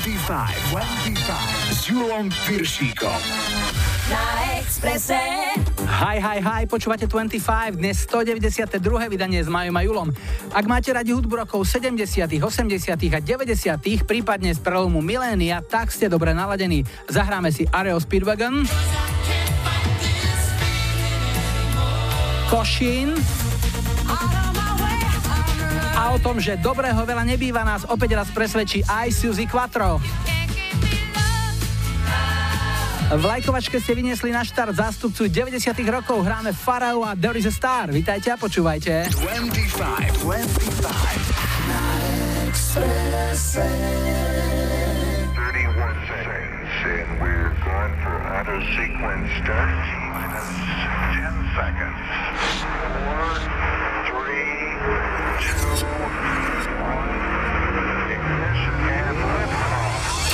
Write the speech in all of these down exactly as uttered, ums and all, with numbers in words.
dvadsaťpäť, dvadsaťpäť s Julom Piršíkom. Na Expresse. Hi, hi, hi, počúvate dvadsaťpäť, dnes stodeväťdesiatdva. vydanie s Majom a Julom. Ak máte radi hudbu rokov sedemdesiatych, osemdesiatych a deväťdesiatych, prípadne z prelomu milénia, tak ste dobre naladení. Zahráme si R E O Speedwagon, Košín a o tom, že dobrého veľa nebýva, nás opäť raz presvedčí aj Suzy Quattro. V lajkovačke ste vyniesli na štart zástupcu deväťdesiatych rokov, hráme Pharrell a There is a Star. Vítajte a počúvajte. dvadsaťpäť, dvadsaťpäť na Expresse. thirty-one seconds and we're going for auto sequence start. ten seconds. four, three, two, one. Ignition and liftoff.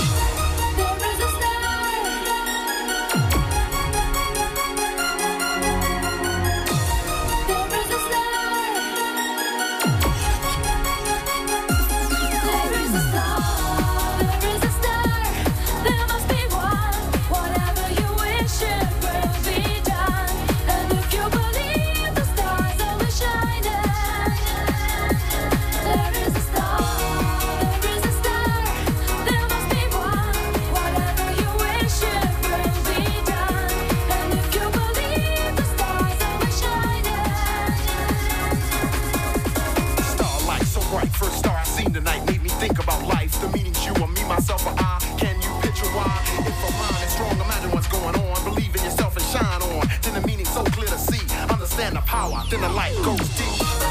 Myself or I, can you picture why? If a mind is strong, imagine what's going on. Believe in yourself and shine on. Then the meaning so clear to see. Understand the power, then the light goes deep.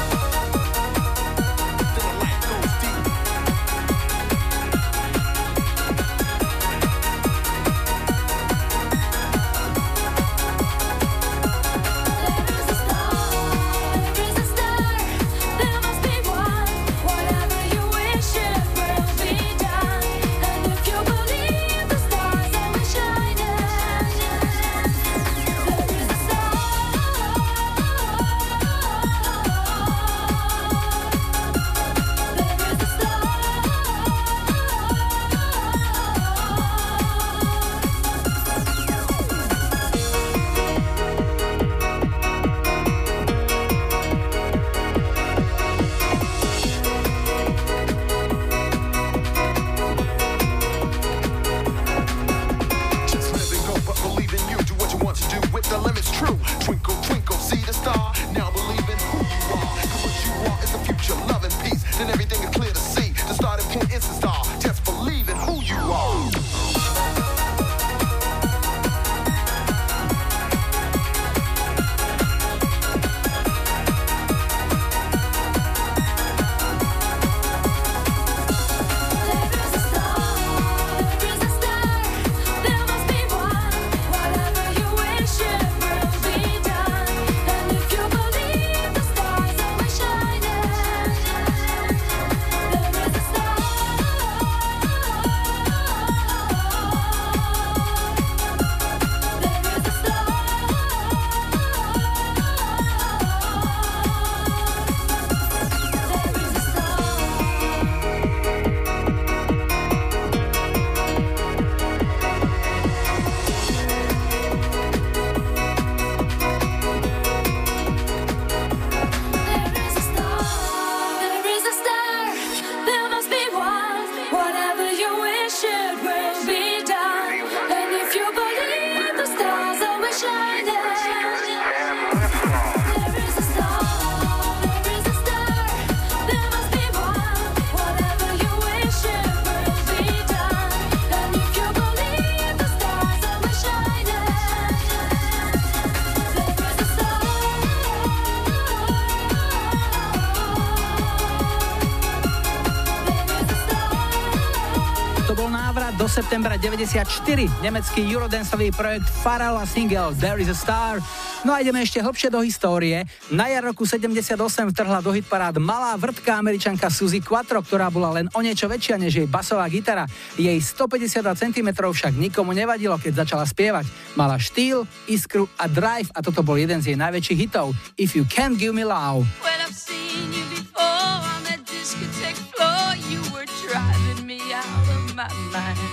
septembra deväťdesiatštyri, nemecký eurodanceový projekt Pharrell a single There is a Star. No a ideme ešte hlbšie do histórie. Na jar roku sedemdesiatosem vtrhla do hitparád malá vrtka Američanka Suzy Quattro, ktorá bola len o niečo väčšia než jej basová gitara. Jej stopäťdesiatdva centimetrov však nikomu nevadilo, keď začala spievať. Mala štýl, iskru a drive a toto bol jeden z jej najväčších hitov. If You Can't Give Me Love. When I've seen you before on that discotheque floor, you were driving me out of my mind.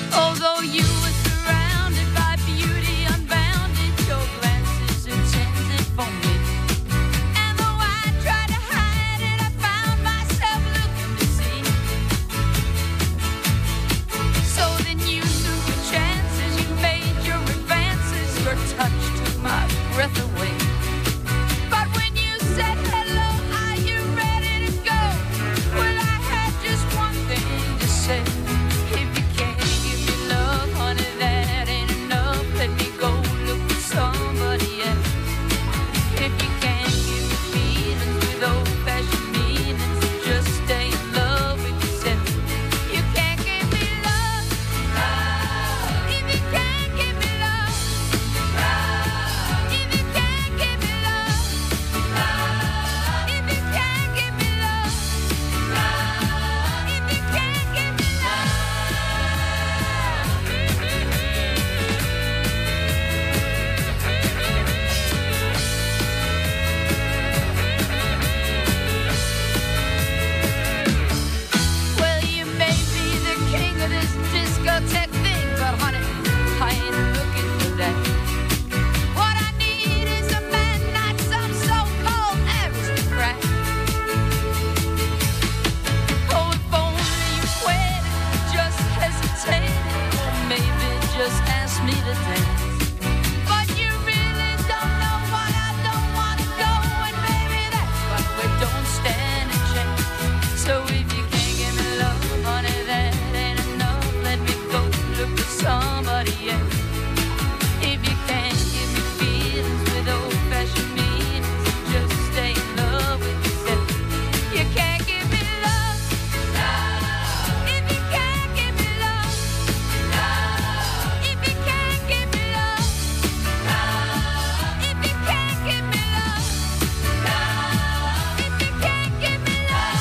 Although you were surrounded by beauty unbounded, your glances intended for me. And though I tried to hide it, I found myself looking to see. So then you took your chances, you made your advances, your touch took my breath away. But when you said hello, are you ready to go? Well, I had just one thing to say. If you can't give me love, honey, that ain't enough. Let me go look for somebody else. If you can't give me feelings with old-fashioned meanings, just stay in love with yourself. You can't give me love, love. If you can't give me love, love. If you can't give me love, love. If you can't give me love, love. If you can't give me love. Well, you may be the king of this discotheque thing, but honey, I ain't looking for that. What I need is a man, not some so-called aristocrat. Oh, if only you waited, just hesitated, or maybe just asked me to dance. But you really don't know what I don't want to go, and baby, that's why we don't stand a chance. So if you can't give me love, honey, that ain't enough. Let me go look for somebody else. If you can't give me feelings with old-fashioned meanings, just stay in love with yourself. You can't give me love, love. If you can't give me love, love. If you can't give me love, love. If you can't give me love, love. If you can't give me love.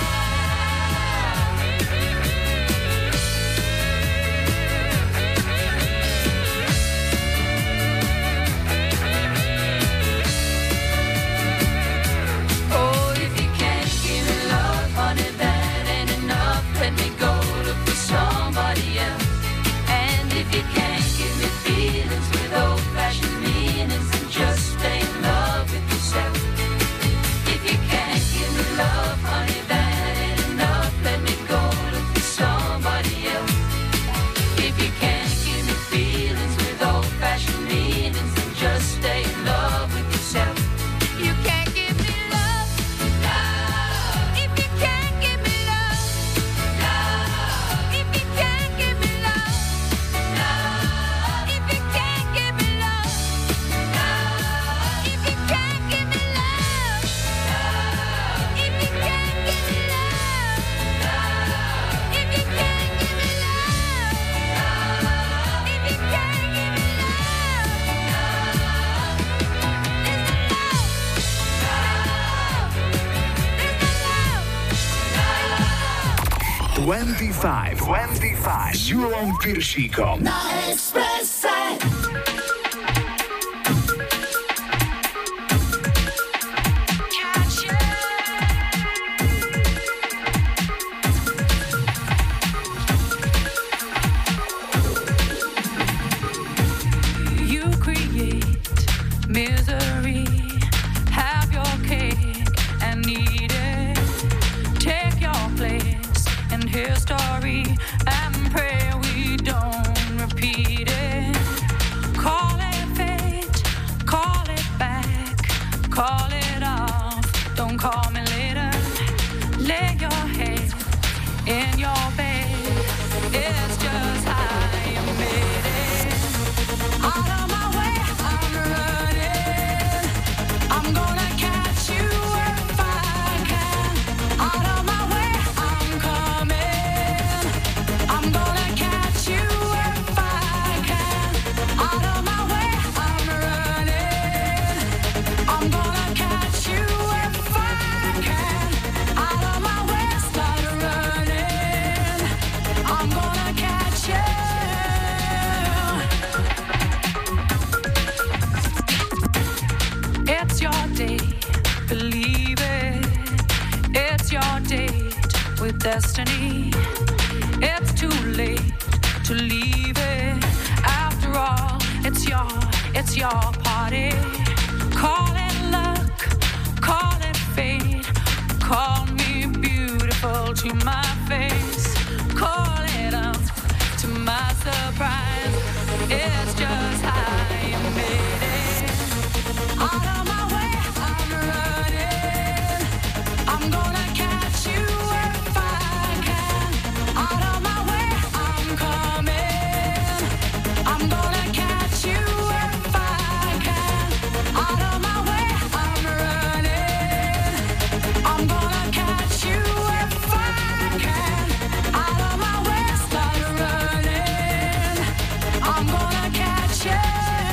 Oh, if you can't give me love, honey, that ain't enough. Let me go look for somebody else. And if you can't give me feelings with old-fashioned meanings, then just stay in love with yourself. If you can't give me love, honey, that ain't enough. Let me go look for somebody else. If you can't give me feelings with old-fashioned meanings, then just stay in love with yourself. You can't give me love, love. If you can't give me love, love. If you can't give me love, love. If you can't give me love, love. If you can't give me love, love. If you can't give me love, love. If you can't give me love, love. If you can't give me dvadsaťpäť, dvadsaťpäť s Julom Piršíkom. Na Expresse. You create misery, have your cake and eat it. Take your place in history and pray we don't repeat it. Call it fate, call it back, call it off. Don't call me later. Lay your head in your bed. It's just how you made it. Out of my way, I'm running. I'm gonna catch you if I can. Out of my way, I'm coming. I'm gonna catch you if I can. Out of my way, I'm running. I'm gonna catch you if I can. Out of my way, start running. I'm gonna catch you. It's your day, believe it. It's your date with destiny. It's too late to leave. your party. Call it luck, call it fate. Call me beautiful to my face. Call it up to my surprise. It's just how you made it. Out of my way, I'm running. I'm gonna catch you if I can. Out of my way, I'm coming. I'm gonna catch you if I can. Out of my way, I'm running. I'm gonna catch you if I can. Out of my way, start running. I'm gonna catch you.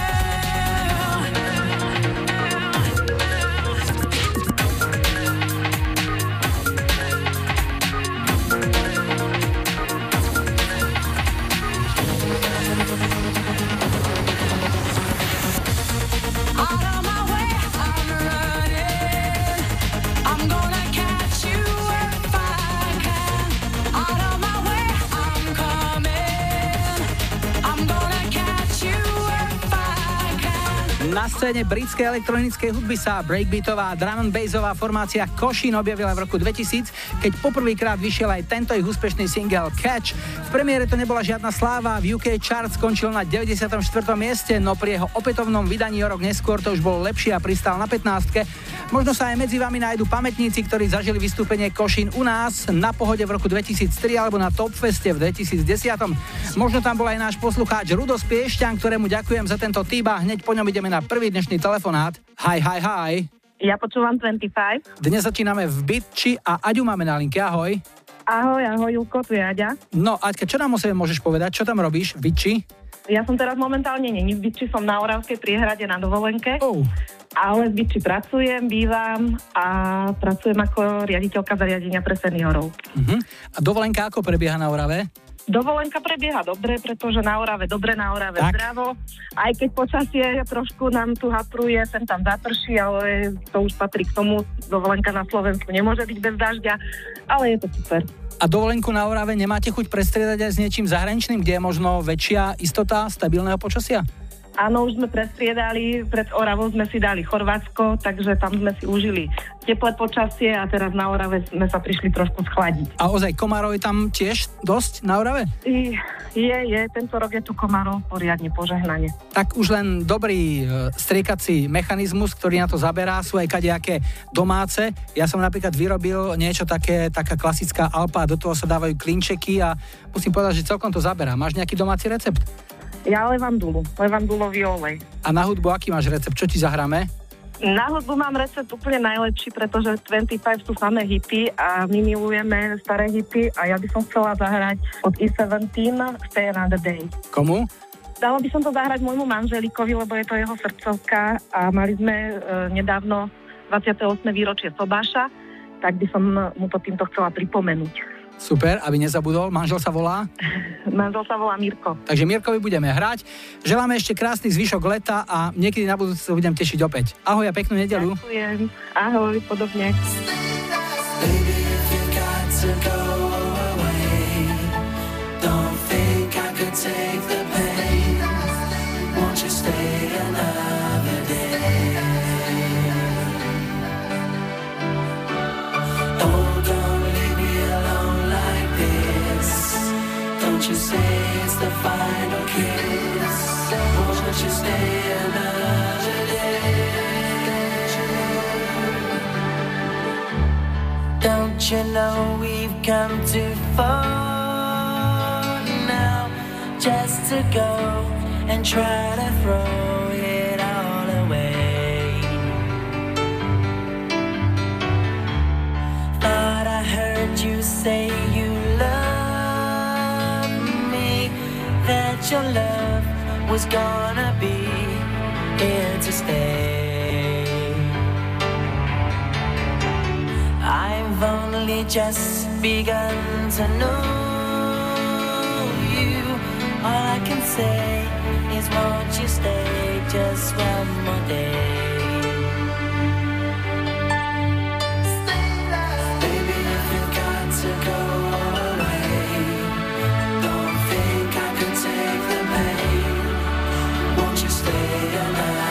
Out of my way, I'm running. I'm gonna catch you if I can. Out of my way, I'm coming. I'm gonna catch you if I can. Na scéne britskej elektronickej hudby sa breakbeatová drum and bassová formácia Košín objavila v roku dvetisíc, keď poprvýkrát vyšiel aj tento ich úspešný single Catch. V premiére to nebola žiadna sláva, v ú ká chart skončil na deväťdesiatom štvrtom mieste, no pri jeho opätovnom vydaní o rok neskôr to už bol lepšie a pristál na pätnástke. Možno sa aj medzi vami nájdu pamätníci, ktorí zažili vystúpenie Košín u nás na Pohode v roku dvetisíctri alebo na Topfeste v dvetisícdesať. Možno tam bol aj náš poslucháč Rudo z Piešťan, ktorému ďakujem za tento tip a hneď po ňom ideme na prvý dnešný telefonát. Hi, hi, hi. Ja počúvam dvadsaťpäť. Dnes začíname v Bytči a Aďu máme na linke. Ahoj. Ahoj, ahoj, Julko, tu je Aďa. No, Aďka, čo nám o sebe môžeš povedať? Čo tam robíš v Bytči? Ja som teraz momentálne není v Bytči, som na Oravskej priehrade na dovolenke. Oh. Ale v Bytči pracujem, bývam a pracujem ako riaditeľka zariadenia pre seniorov. Uh-huh. A dovolenka ako prebieha na Orave? Dovolenka prebieha dobre, pretože na Orave dobre, na Orave tak. Zdravo. Aj keď počasie trošku nám tu hapruje, sem tam zaprší, ale to už patrí k tomu. Dovolenka na Slovensku nemôže byť bez dažďa, ale je to super. A dovolenku na Orave nemáte chuť prestriedať aj s niečím zahraničným, kde je možno väčšia istota stabilného počasia? Áno, už sme prestriedali, pred Oravou sme si dali Chorvátsko, takže tam sme si užili teplé počasie a teraz na Orave sme sa prišli trošku schladiť. A ozaj komárov je tam tiež dosť na Orave? I, je, je, tento rok je tu komárov poriadne požehnanie. Tak už len dobrý e, striekací mechanizmus, ktorý na to zaberá, sú aj kadejaké domáce. Ja som napríklad vyrobil niečo také, taká klasická Alpa, do toho sa dávajú klinčeky a musím povedať, že celkom to zaberá. Máš nejaký domáci recept? Ja levandulu, levandulový olej. A na hudbu aký máš recept? Čo ti zahráme? Na hudbu mám recept úplne najlepší, pretože dvadsaťpäť sú samé hity a my milujeme staré hity a ja by som chcela zahrať od E sedemnásť Stay Another Day. Komu? Dala by som to zahrať môjmu manželikovi, lebo je to jeho srdcovka a mali sme e, nedávno dvadsiate ôsme výročie sobáša, tak by som mu to týmto chcela pripomenúť. Super, aby nezabudol. Manžel sa volá? Manžel sa volá Mirko. Takže Mirkovi budeme hrať. Želáme ešte krásny zvyšok leta a niekedy na budúce sa budem tešiť opäť. Ahoj a peknú nedeľu. Ďakujem. Ahoj, podobne. Don't you say it's the final kiss? Won't you stay another day? Don't you know we've come too far now just to go and try to throw it all away? Thought I heard you say you love that your love was gonna be here to stay. I've only just begun to know you. All I can say is won't you stay just one more day? Baby, if you've got to go take the pain, won't you stay alive?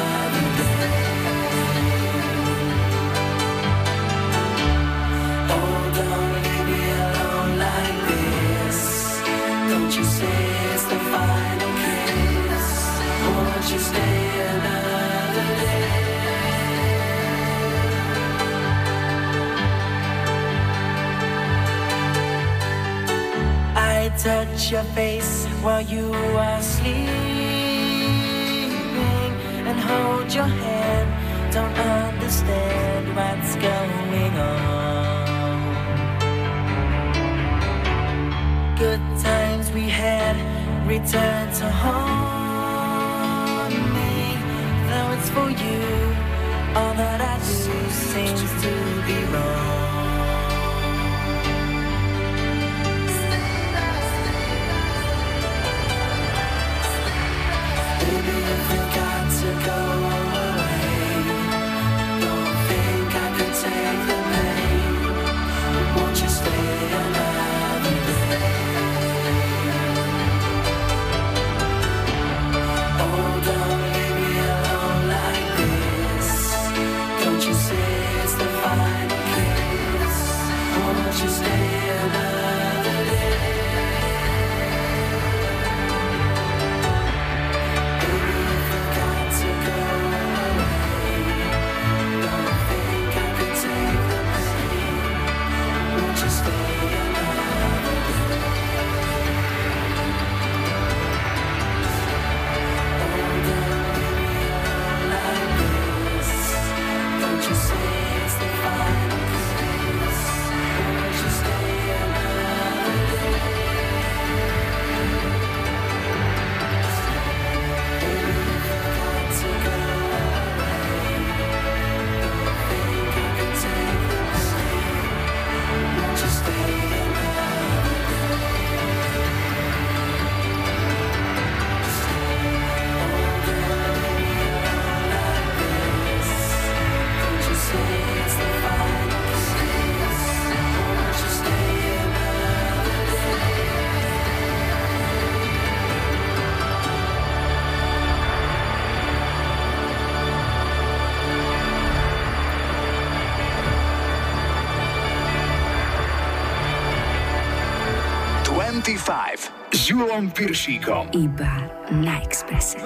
say it's the final kiss? Won't you stay another day? I touch your face while you are sleeping and hold your hand. Don't understand what's going on. Good times we had return to haunt me. Though it's for you, all that I do seems to be wrong. Baby, if you got to go away, don't think I could take the pain. Won't you stay another day? Oh, don't leave me alone like this. Don't you say it's the final kiss? Won't you stay another day? dvadsaťpäť s Julom Piršíkom. Iba na Expresse.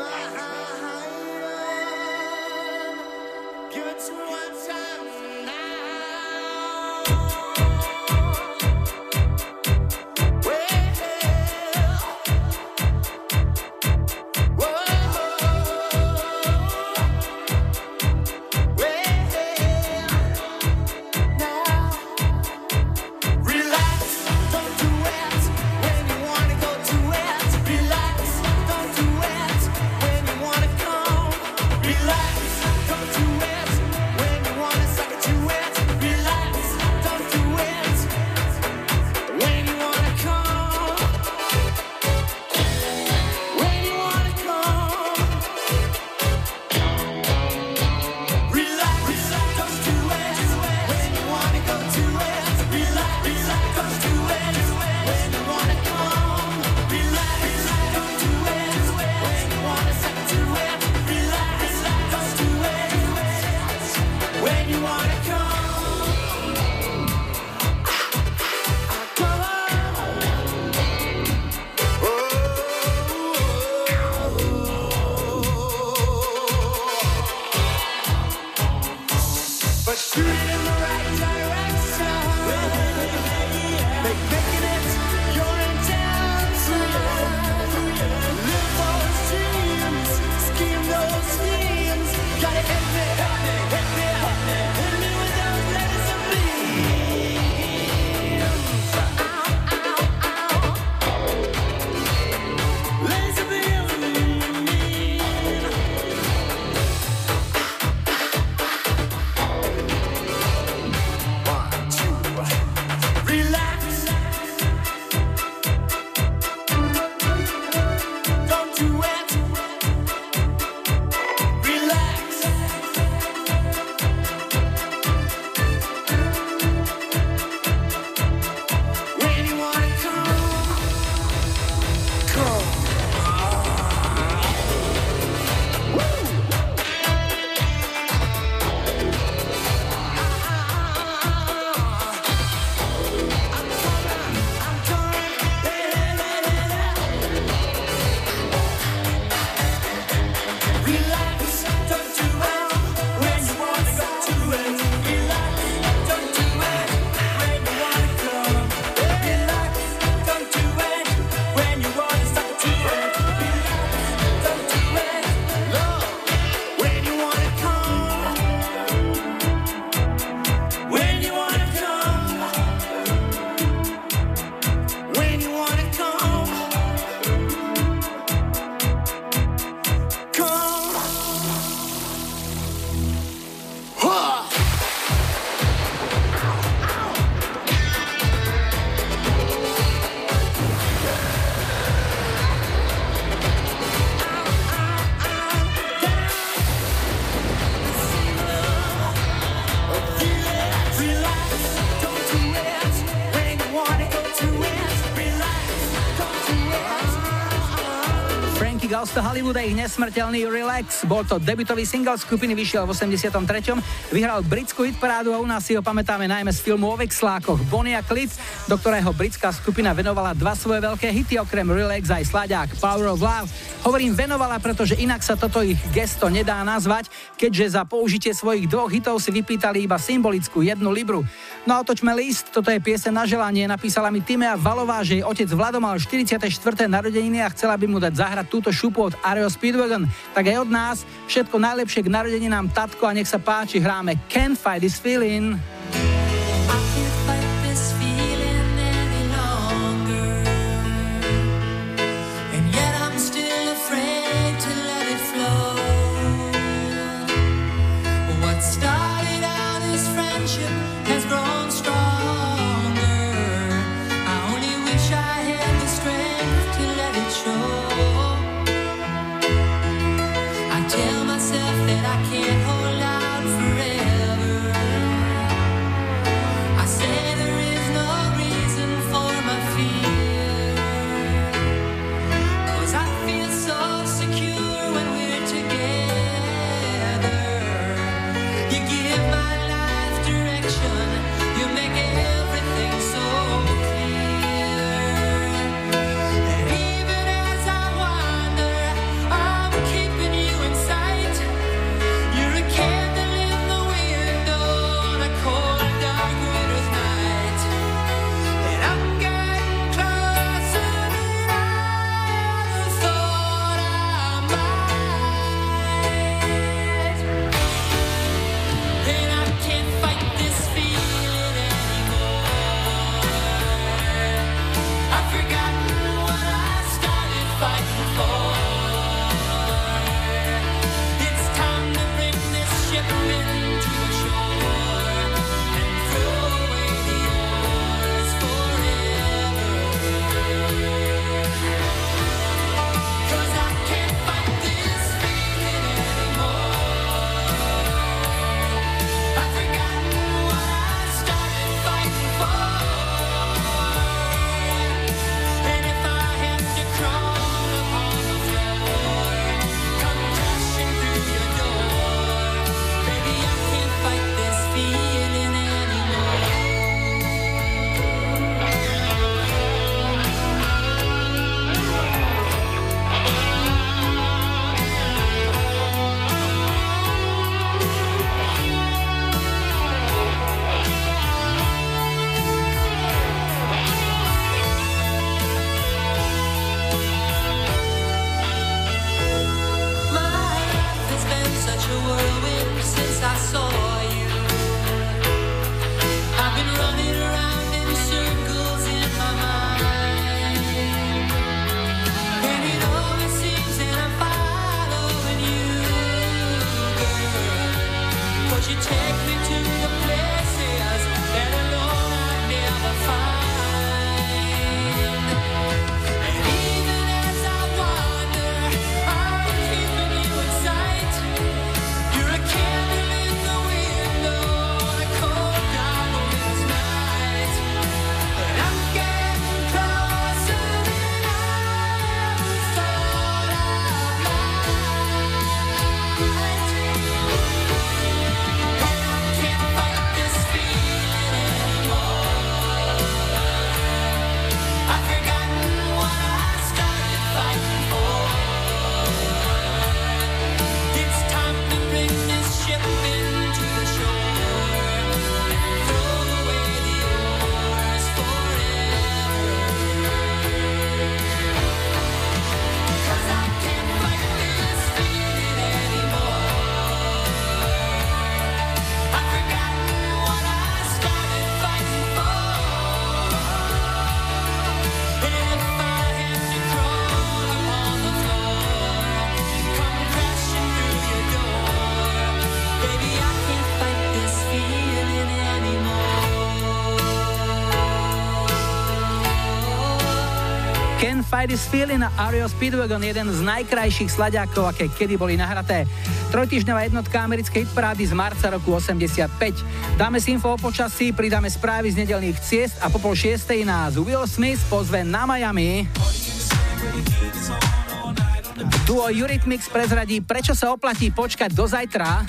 When you wanna go to it, relax, don't do it. When Girls to Hollywood a ich nesmrteľný Relax. Bol to debutový single skupiny, vyšiel v osemdesiatom treťom Vyhral britskú hitparádu a u nás si ho pamätáme najmä z filmu o vekslákoch Bonnie a Clyde, do ktorého britská skupina venovala dva svoje veľké hity, okrem Relax aj slaďák Power of Love. Hovorím venovala, pretože inak sa toto ich gesto nedá nazvať, keďže za použitie svojich dvoch hitov si vypýtali iba symbolickú jednu libru. No a otočme list, toto je pieseň na želanie, napísala mi Timea Valová, že jej otec Vlado mal štyridsiate štvrté narodeniny a chcela by mu dať zahrať túto šupu od Aero Speedwagon. Tak aj od nás všetko najlepšie k narodeninám, tatko, a nech sa páči, hráme Can't Fight This Feeling. Fight This Feeling a Aero Speedwagon, jeden z najkrajších slaďákov, aké kedy boli nahraté. Trojtýždňová jednotka americkej hitparády z marca roku osemdesiatpäť. Dáme si info o počasí, pridáme správy z nedeľných ciest a po pol šiestej nás Will Smith pozve na Miami. Duo Eurythmics prezradí, prečo sa oplatí počkať do zajtra.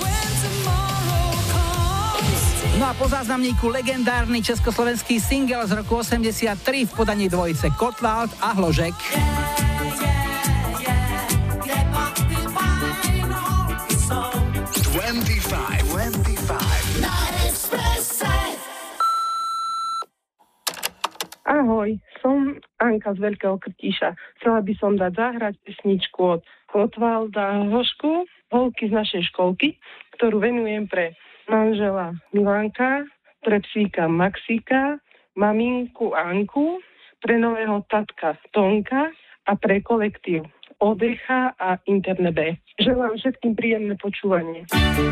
No a po záznamníku legendárny československý single z roku osemdesiattri v podaní dvojice Kotwald a Hložek. dvadsaťpäť, dvadsaťpäť na Expresse. Ahoj, som Anka z Veľkého Krtíša. Chcela by som dať zahrať pesničku od Kotwalda Hložku, Holky z našej školky, ktorú venujem pre manžela Milanka, pre psíka Maxika, maminku Anku, pre nového tatka Tonka a pre kolektív Odecha a Interne B. Želám všetkým príjemné počúvanie.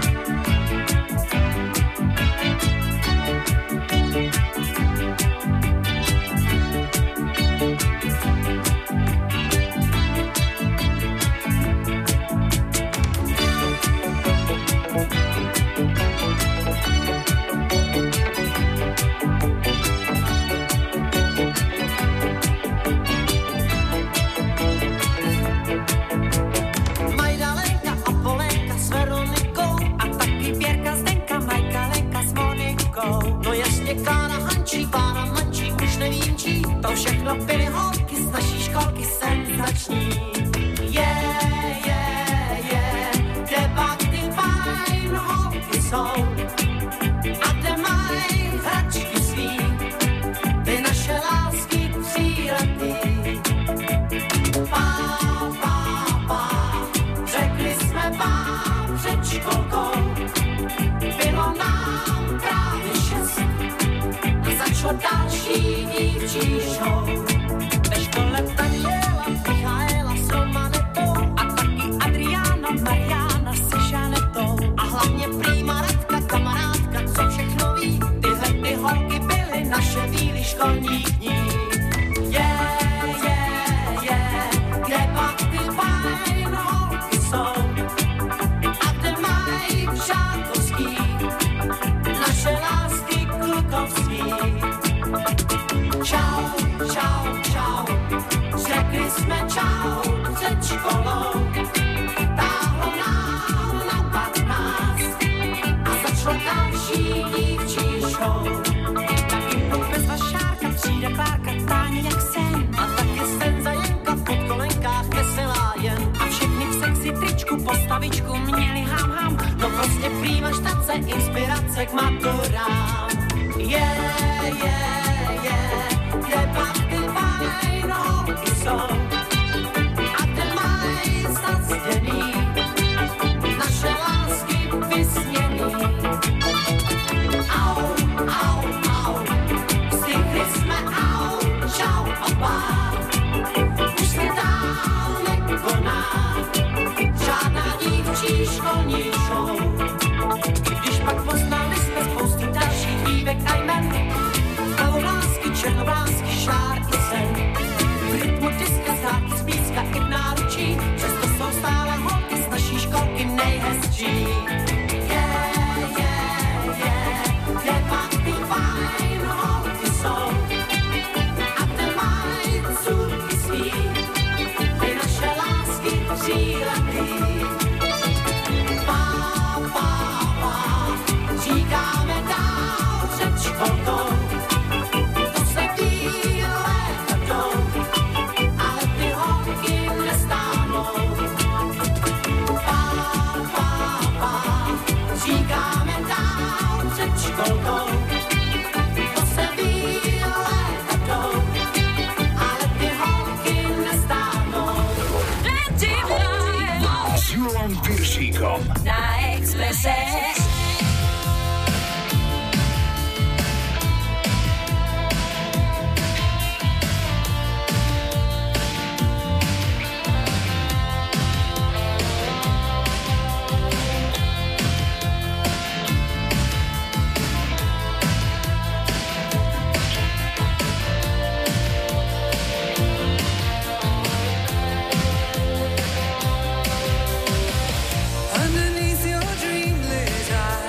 Kána Hančí, pána Mančí, už nevím čí, to všechno byly holky z naší školky senzační. Je, je, je, kde pak ty fajn holky jsou a kde mají hračky svý, ty naše lásky příletý. Pá, pá, pá, řekli jsme vám před školkou, bylo nám právě šest. Začalo další dívčí show. Ve škole Daniela, Michaela s Romanetou a taky Adriana, Mariana se Žanetou. A hlavně prýma Radka, kamarádka, co všechno ví. Tyhle ty holky byly naše víly školní dní. Je, je, je, kde pak ty fajn holky jsou a kde mají přátelský naše lásky klukovský. Čau, čau, čau, řekli jsme čau před školou. Táhlo nám na patnáct a začalo další dívčí show. Taky bez vašárka přijde Klárka, Táně jak sen. A taky Senza Jenka v podkolenkách veselá jen. A všechny v sexy tričku postavičku měli ham ham. No prostě prýma štace, inspirace k maturám. Yeah, yeah, yeah, kde pak ty fajn holky jsou a kde mají zastěný naše lásky vysněný. Au, au, au, stihli jsme au, čau oba, už se dál nekoná žádná dívčí školní show. Když pak poznali jsme spoustu dalších dívek a jmen, Pavlásky, černovlásky, šár i sen. V rytmu diska, zdárky z blízka i v náručí, přesto jsou stále holky z naší školky nejhezčí. Yeah, yeah, yeah, kde pak ty fajn holky jsou a kde mají cůrky svý, ty naše lásky příletý. Pá, pá, pá, říkáme dál před školkou. To se bílé jdou, ale ty holky nestáhnou. Pá, pá, pá, říkáme dál před školkou. To se bílé jdou, ale ty holky nestáhnou. S Julom Piršíkom Na Expresse. Underneath your dream lay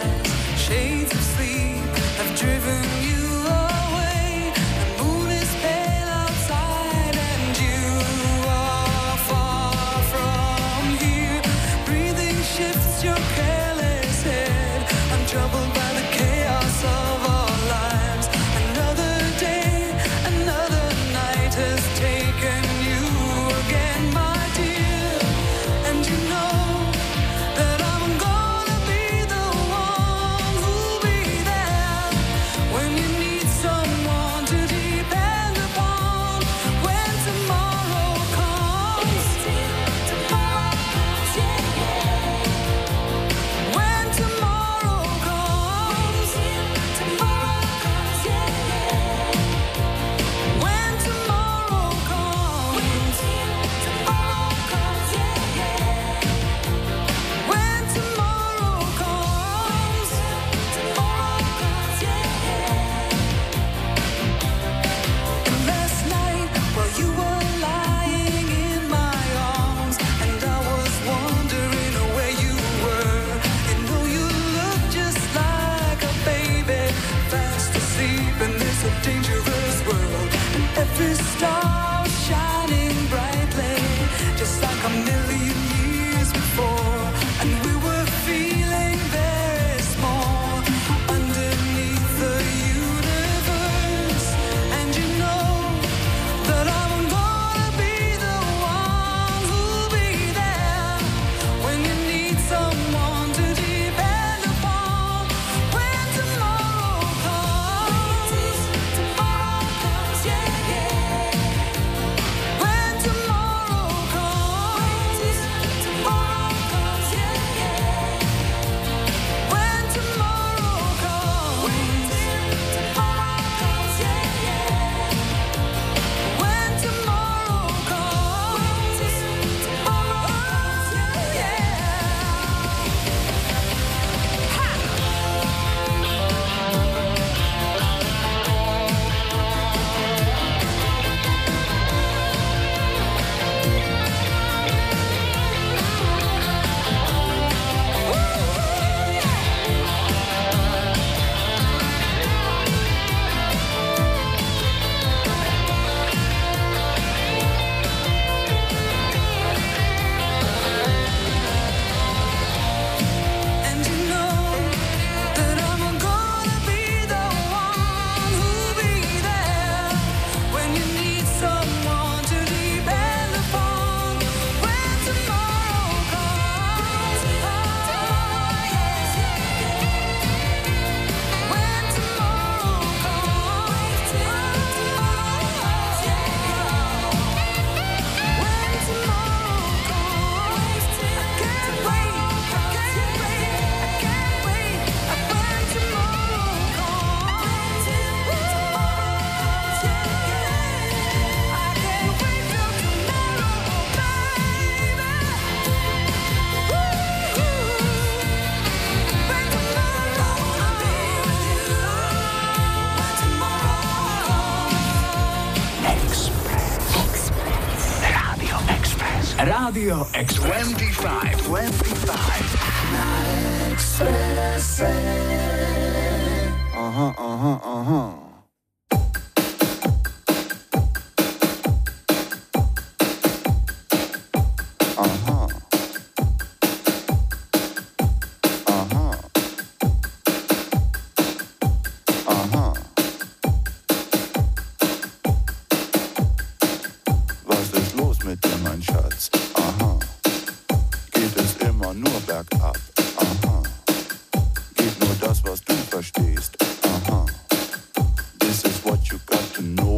a million years before, and we were feeling very small underneath the universe. And you know that I'm gonna be the one who'll be there when you need someone to depend upon. When tomorrow comes, tomorrow comes, yeah, yeah. When tomorrow comes, tomorrow comes, yeah, yeah. When tomorrow comes, tomorrow comes, yeah, yeah. When tomorrow comes, tomorrow comes, yeah, yeah. And you know that I'm gonna be the one who'll be there when you need someone to depend upon. When tomorrow comes, oh yeah. When tomorrow comes, oh yeah. When tomorrow comes, I can't wait, I can't wait, I can't wait. When tomorrow comes, yeah, I can't wait till tomorrow, baby. When tomorrow I'll be with you. When tomorrow. Radio Express. dvadsaťpäť, dvadsaťpäť. Aha, aha, aha. Aha. Aha. Aha. Was ist los mit dir, mein Schatz? Aha. Geht es immer nur bergab? Aha. Geht nur das, was du verstehst? Aha. This is what you got to know.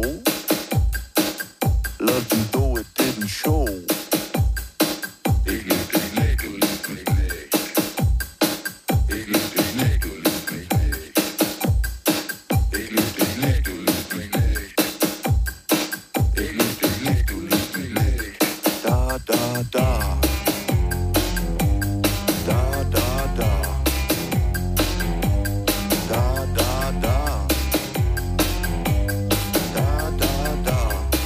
Love you though it didn't show. Ich lieb dich nicht, du liebst mich nicht. Ich lieb dich nicht, du liebst mich nicht. Ich lieb dich nicht, du liebst mich nicht. Ich lieb dich nicht, du liebst mich nicht. Da, da, da. Da, da, da. Da, da, da. Da, da, da.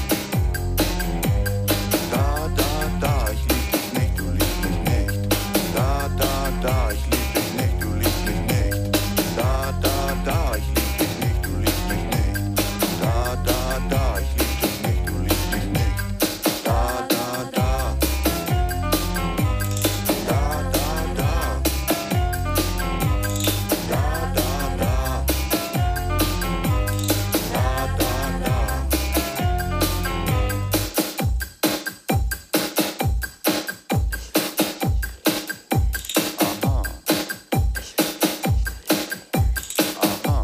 Da, da, da. Ich lieb dich nicht, du liebst mich nicht. Da, da, da. Ich lieb dich nicht, du liebst mich nicht. Da, da, da. Ich lieb dich nicht, du liebst mich nicht. Da, da, da. Ich lieb dich nicht, du liebst mich nicht. Da, da, da. Da, da, da. Da, da, da. Da, da, da. Aha. Aha.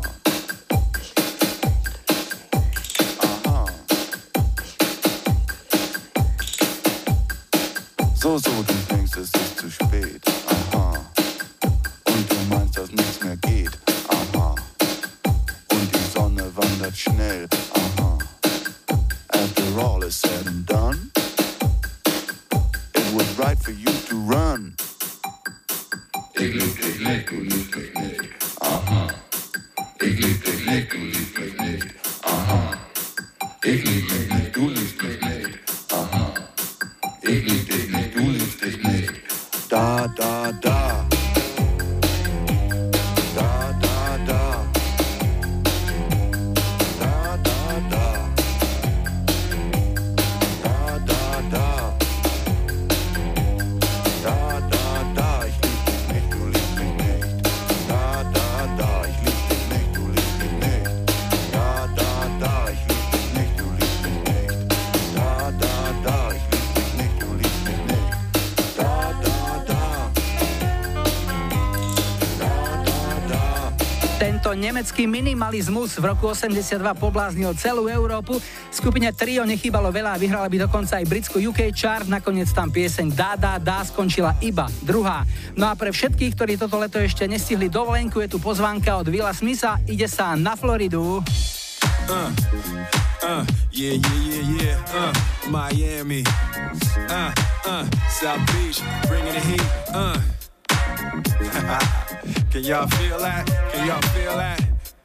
Aha. So, so, du denkst, es ist zu spät. Aha. Und du meinst, dass nichts mehr geht. Aha. Und die Sonne wandert schnell. Aha. After all is said and done, it was right for you to run. Ich lieb dich nicht, du liebst mich nicht. Aha. Ich lieb dich nicht, du liebst mich nicht. Aha. Ich lieb dich nicht, du liebst mich nicht. Aha. Ich lieb dich nicht, du liebst dich nicht. Da, da, da. Da, da, da. Da, da, da. Da, da, da. Tento nemecký minimalizmus v roku osemdesiatdva pobláznil celú Európu. Skupine Trio nechýbalo veľa a vyhrala by dokonca aj britskú ú ká chart. Nakoniec tam pieseň Dá, dá, dá skončila iba druhá. No a pre všetkých, ktorí toto leto ešte nestihli dovolenku, je tu pozvánka od Willa Smitha. Ide sa na Floridu. Uh, uh, yeah, yeah, yeah, yeah, uh, Miami, uh, uh, South Beach, bringing the heat, uh. Can y'all feel that? Can y'all feel that?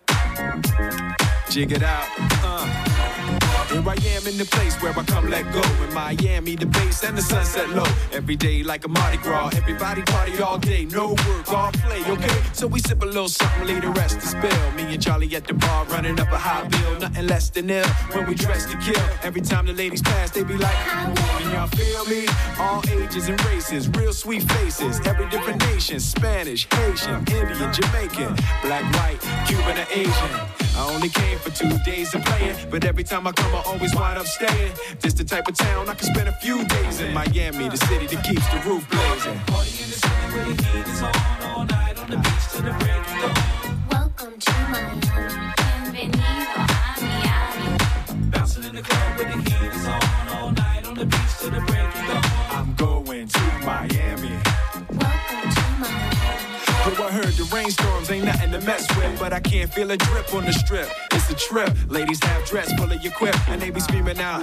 Jig it out, uh. Here I am in the place where I come let go. In Miami, the bass and the sunset low. Every day like a Mardi Gras. Everybody party all day, no work, all play, okay? So we sip a little something, leave the rest to spill. Me and Charlie at the bar running up a high bill. Nothing less than ill when we dress to kill. Every time the ladies pass, they be like, can y'all feel me? All ages and races, real sweet faces. Every different nation, Spanish, Haitian, Indian, Jamaican, black, white, Cuban, or Asian. I only came for two days of playing, but every time I come I always wind up staying. This the type of town I can spend a few days in. Miami, the city that keeps the roof blazing. Party in the city where the heat is on, all night on the beach till the break of dawn. Welcome to Miami, bienvenido a Miami. Bouncing in the club where the heat is on, all night on the beach till the break of dawn. I'm going to Miami. Welcome to Miami. Yo, I heard the rainstorms ain't nothing to mess with, but I can't feel a drip on the strip. It's a trip. Ladies have dress full of your quip, and they be screaming out.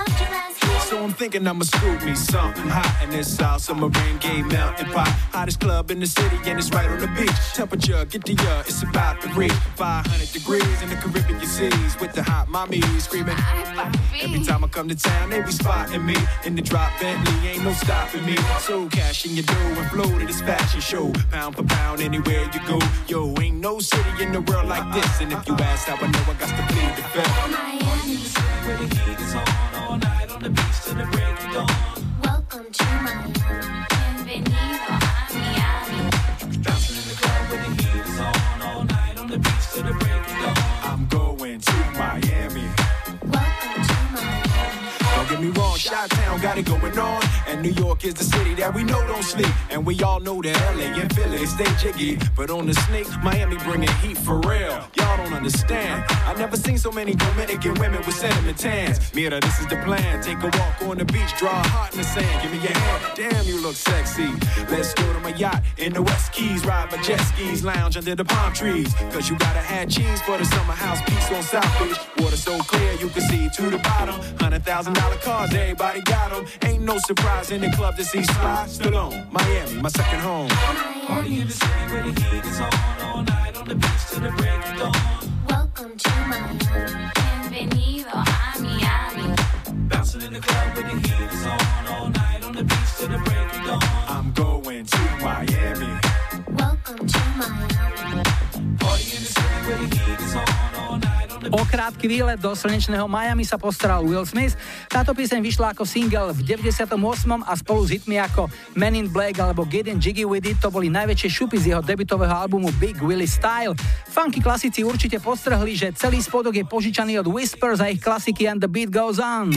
So I'm thinking I'ma scoop me something hot in this South Summer rain gay melting pot. Hottest club in the city, and it's right on the beach. Temperature, get the uh, it's about to reach five hundred degrees in the Caribbean seas with the hot mommy screaming. Every time I come to town, they be spotting me in the drop Bentley, ain't no stopping me. So cash in your dough and flow to this fashion show, pound for pound anywhere you go. Yo, ain't no city in the world like this, and if you ask how I know, I got to plead the fifth. Miami, where the heat is on, all night on the beach till the break of dawn. Welcome to Miami, bienvenido a Miami. Bouncing in the club where the heat is on, all night on the beach till the break of dawn. I'm going to Miami. Welcome to Miami. Don't get me wrong, Chi-Town got it going on, and New York is the city that we know don't sleep, and we all know that L A and Philly stay jiggy, but on the sneak, Miami bringing heat for real. Y'all don't understand. I never seen so many Dominican women with sentiment tans. Mira, this is the plan. Take a walk on the beach, draw a heart in the sand. Give me your hand. Damn, you look sexy. Let's go to my yacht in the West Keys, ride my jet skis, lounge under the palm trees. Cause you gotta have cheese for the summer house piece on South Beach. Water so clear you can see to the bottom. Hundred thousand dollar cars, everybody got them. Ain't no surprise in the club to see Sly Stallone. Miami, my second home. Party in the city where the heat is on, all night on the beach till the break of dawn. Welcome to Miami, bienvenido a Miami. Bouncing in the club where the heat is on, all night on the beach till the break of dawn. I'm going to Miami. Welcome to Miami. Party in the city where the heat is on, all night on the beach. O krátky výlet do slnečného Miami sa postaral Will Smith. Táto pieseň vyšla ako single v deväťdesiatom ôsmom a spolu s hitmi ako Men in Black alebo Getting Jiggy With It to boli najväčšie šupy z jeho debutového albumu Big Willie Style. Funky klasici určite postrhli, že celý spodok je požičaný od Whispers a ich klasiky And the Beat Goes On.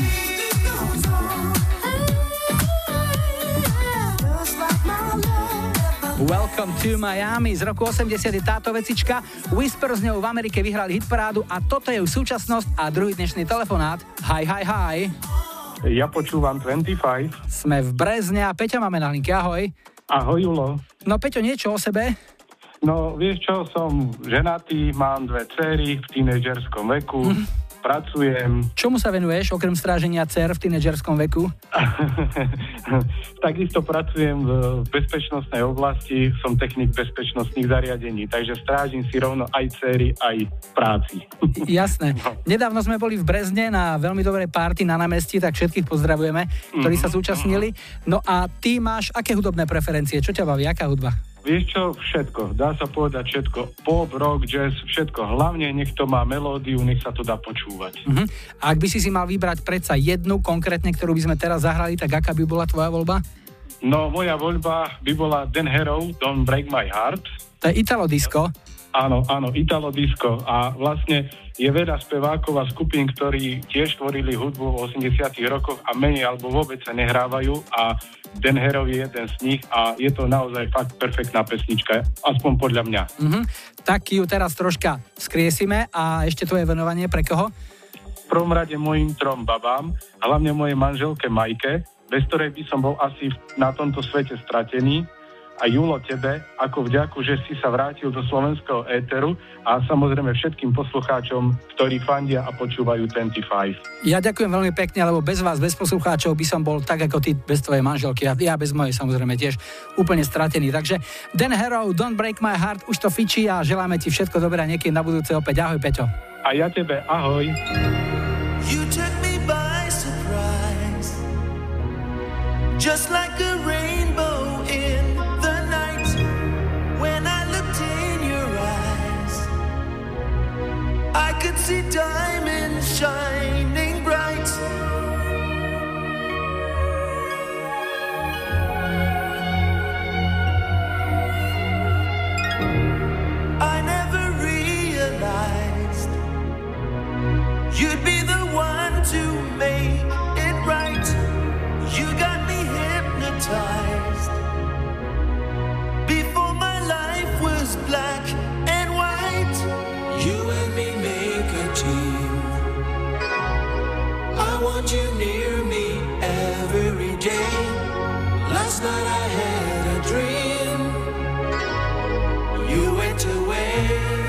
Welcome to Miami z roku osemdesiat je táto vecička. Whisper z ňou v Amerike vyhrali hitparádu a toto je už súčasnosť a druhý dnešný telefonát. Hi, hi, hi. Ja počúvam dvadsaťpäť. Sme v Brezne a Peťa máme na linke. Ahoj. Ahoj, Julo. No Peťo, niečo o sebe? No, vieš čo, som ženatý, mám dve dcery v tínedžerskom veku. Mm. Pracujem. Čomu sa venuješ, okrem stráženia dcer v tínedžerskom veku? Takisto pracujem v bezpečnostnej oblasti, som technik bezpečnostných zariadení, takže strážim si rovno aj dcery, aj práci. Jasné. Nedávno sme boli v Brezne na veľmi dobrej party na námestí, tak všetkých pozdravujeme, ktorí sa zúčastnili. No a ty máš aké hudobné preferencie? Čo ťa baví? Aká hudba? Vieš čo, všetko, dá sa povedať všetko, pop, rock, jazz, všetko, hlavne nech to má melódiu, nech sa to dá počúvať. Uh-huh. A ak by si si mal vybrať predsa jednu konkrétne, ktorú by sme teraz zahrali, tak aká by bola tvoja voľba? No, moja voľba by bola Dan Harrow, Don't Break My Heart. To je Italo disco. Áno, áno, Italo Disco. A vlastne je veľa spevákov a skupín, ktorí tiež tvorili hudbu v osemdesiatych rokoch a menej alebo vôbec sa nehrávajú a Dan Harrow je jeden z nich a je to naozaj fakt perfektná pesnička, aspoň podľa mňa. Mm-hmm. Tak ju teraz troška skriesime a ešte tvoje venovanie pre koho? V prvom rade mojim trom babám, hlavne mojej manželke Majke, bez ktorej by som bol asi na tomto svete stratený. A Julo, tebe, ako vďaku, že si sa vrátil do slovenského éteru a samozrejme všetkým poslucháčom, ktorí fandia a počúvajú dvadsaťpäť. Ja ďakujem veľmi pekne, lebo bez vás, bez poslucháčov by som bol tak ako ty bez tvojej manželky a ja bez mojej samozrejme tiež úplne stratený. Takže Dan Harrow, Don't Break My Heart, už to fičí a želáme ti všetko dobré a niekedy na budúce opäť. Ahoj, Peťo. A ja tebe, ahoj. You took me by surprise, just like a rainbow in the night. When I looked in your eyes, I could see diamonds shining bright. I never realized you'd be the one to make it right. You got me hypnotized before my life was black and white. You and me make a team. I want you near me every day. Last night I had a dream. You went away.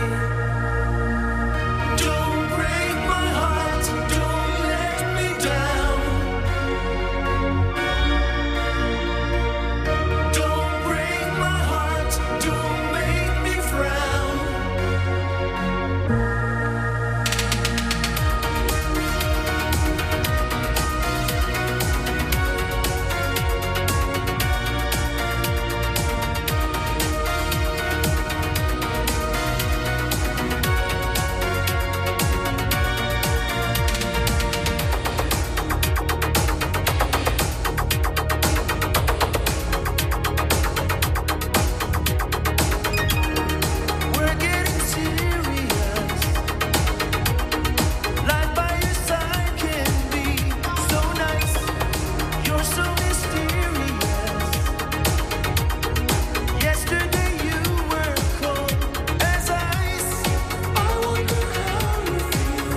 Don't break my heart, don't let me down. Don't break my heart, don't make me frown. We're getting serious. Life by your side can be so nice. You're so mysterious. Yesterday you were cold as ice. I wonder how you feel.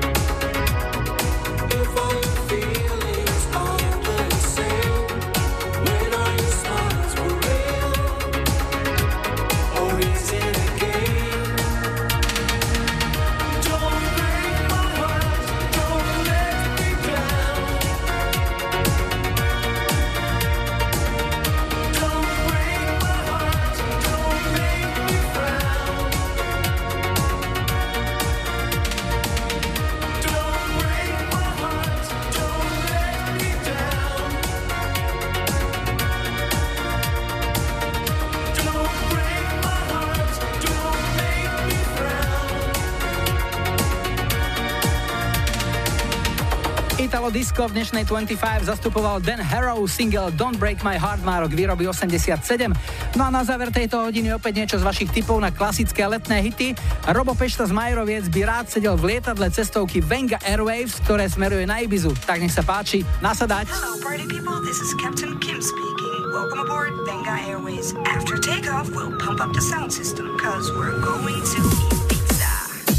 If all your feelings are the same. When all your smiles were real, or is it a game? Don't break my heart, don't let me down. Don't break my heart, don't make me frown. Don't break my heart, don't let me down. Don't break my heart, don't make me frown. Italo Disco v dnešnej dvadsaťpäť zastupoval Dan Harrow, single Don't Break My Heart má rok výroby osemdesiatsedem. No a na záver tejto hodiny opäť niečo z vašich tipov na klasické letné hity. Robo Pešta z Majeroviec by rád sedel v lietadle cestovky Venga Airwaves, ktoré smeruje na Ibizu. Tak nech sa páči, nasadať. Hello, party people. This is Captain Kim speaking. Welcome aboard Venga Airways. After takeoff, we'll pump up the sound system, cause we're going to Ibiza.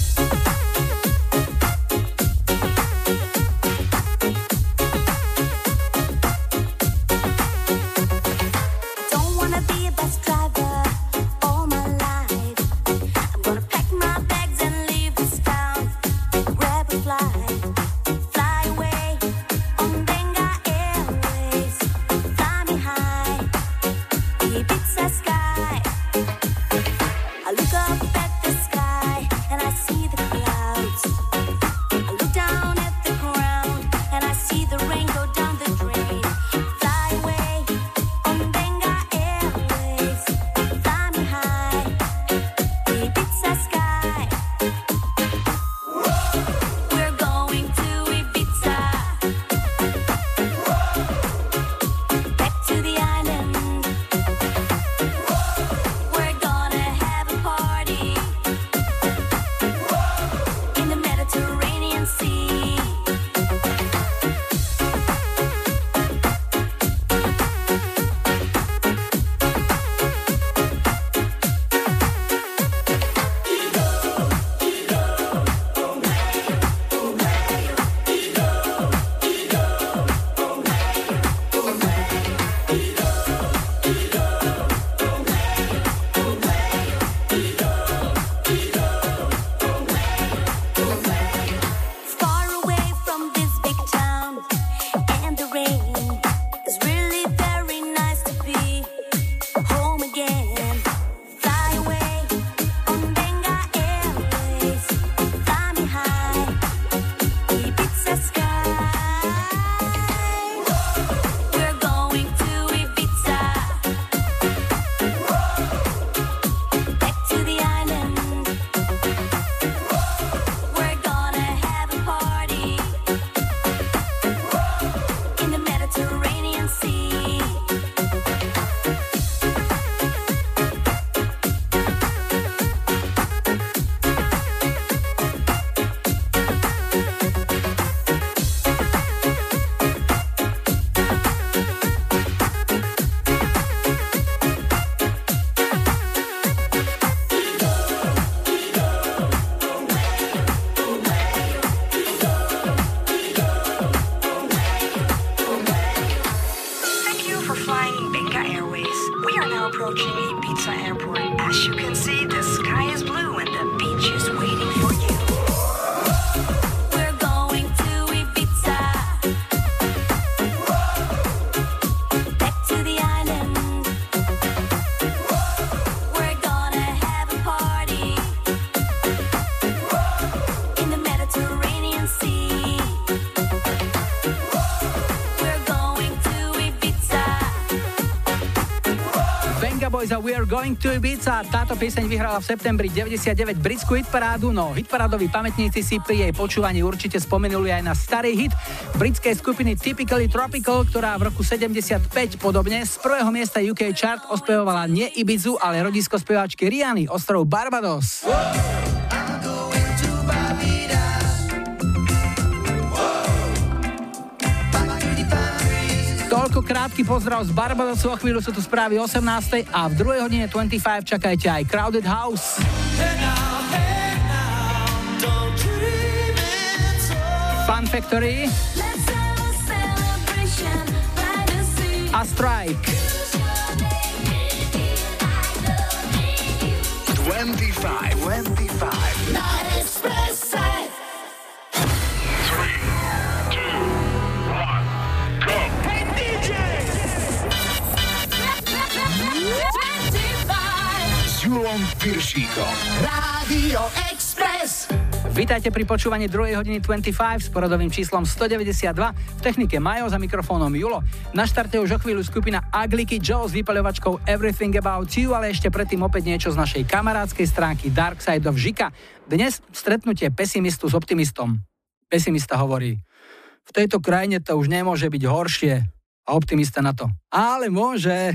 Don't wanna be a bus driver all my life. I'm gonna pack my bags and leave this town. Grab a flight, fly away on Venga Airways. Fly me high, Ibiza sky. I look up at the sky. for flying Benga Airways. We are now approaching Ibiza Airport. As you can see, the sky is blue and the beach is waiting for you. We're going to Ibiza. Back to the island. We're gonna have a party in the Mediterranean Sea. We're going to Ibiza. Venga Boys a We Are Going to Ibiza. Táto pieseň vyhrala v septembri deväťdesiatdeväť britskú hitparádu, no hitparádoví pamätníci si pri jej počúvaní určite spomenuli aj na starý hit britskej skupiny Typically Tropical, ktorá v roku sedemdesiatpäť podobne z prvého miesta ú ká chart ospevovala nie Ibizu, ale rodisko speváčky Rihanny, ostrov Barbados. Toľko krátky pozdrav z Barbadosu, o chvíľu sú tu správy osemnástej a v druhej hodine dvadsaťpäť čakajte aj Crowded House. Fun Factory a Strike. dvadsaťpäť, dvadsaťpäť. Na Expresse. S Julom Piršíkom. Rádio Express. Vítajte pri počúvaní druhej hodiny dvadsaťpäť s poradovým číslom stodeväťdesiatdva. V technike Majo, za mikrofónom Julo. Na štarte už o chvíľu skupina Ugliky Joe s vypaľovačkou Everything About You, ale ešte predtým opäť niečo z našej kamarádskej stránky Dark Side of Žika. Dnes stretnutie pesimistu s optimistom. Pesimista hovorí: v tejto krajine to už nemôže byť horšie. A optimista na to: ale môže.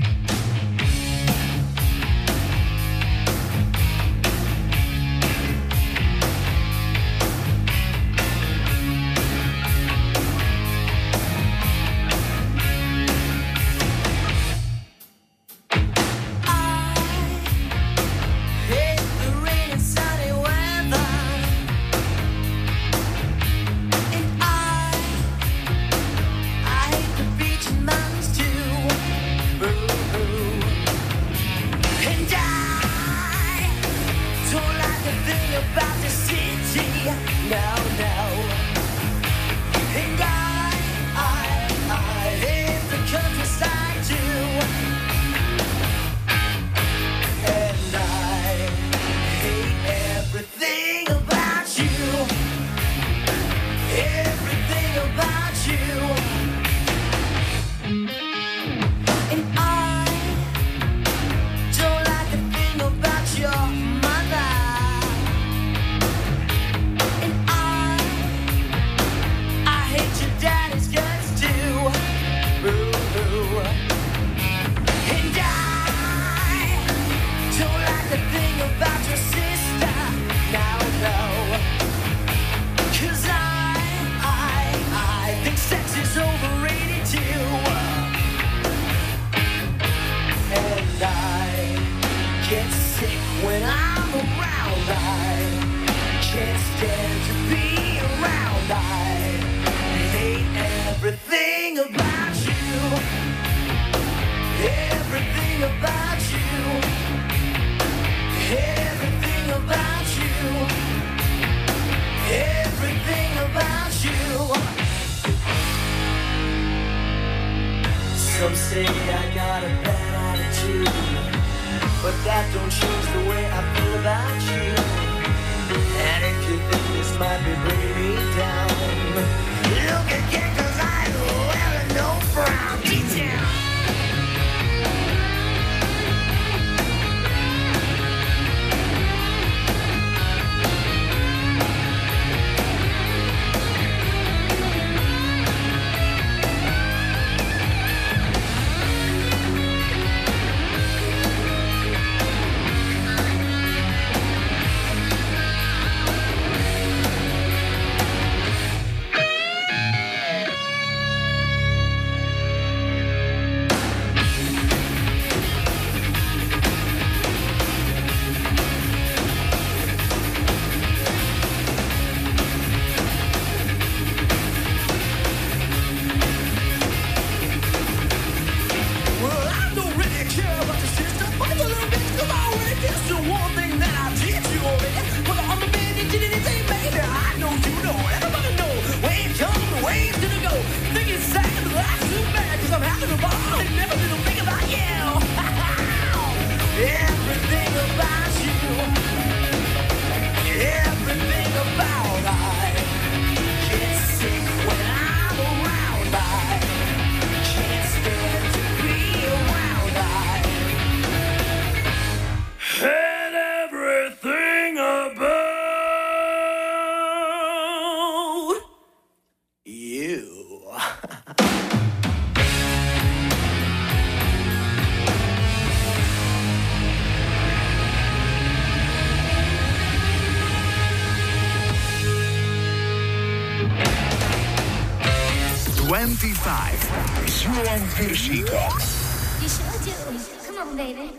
Some say I got a bad attitude, but that don't change the way I feel about you. And if you think this might be bringing me down, look again, cause I wear no frown. Detail. s Julom Piršíkom. You sure do. Come on, baby.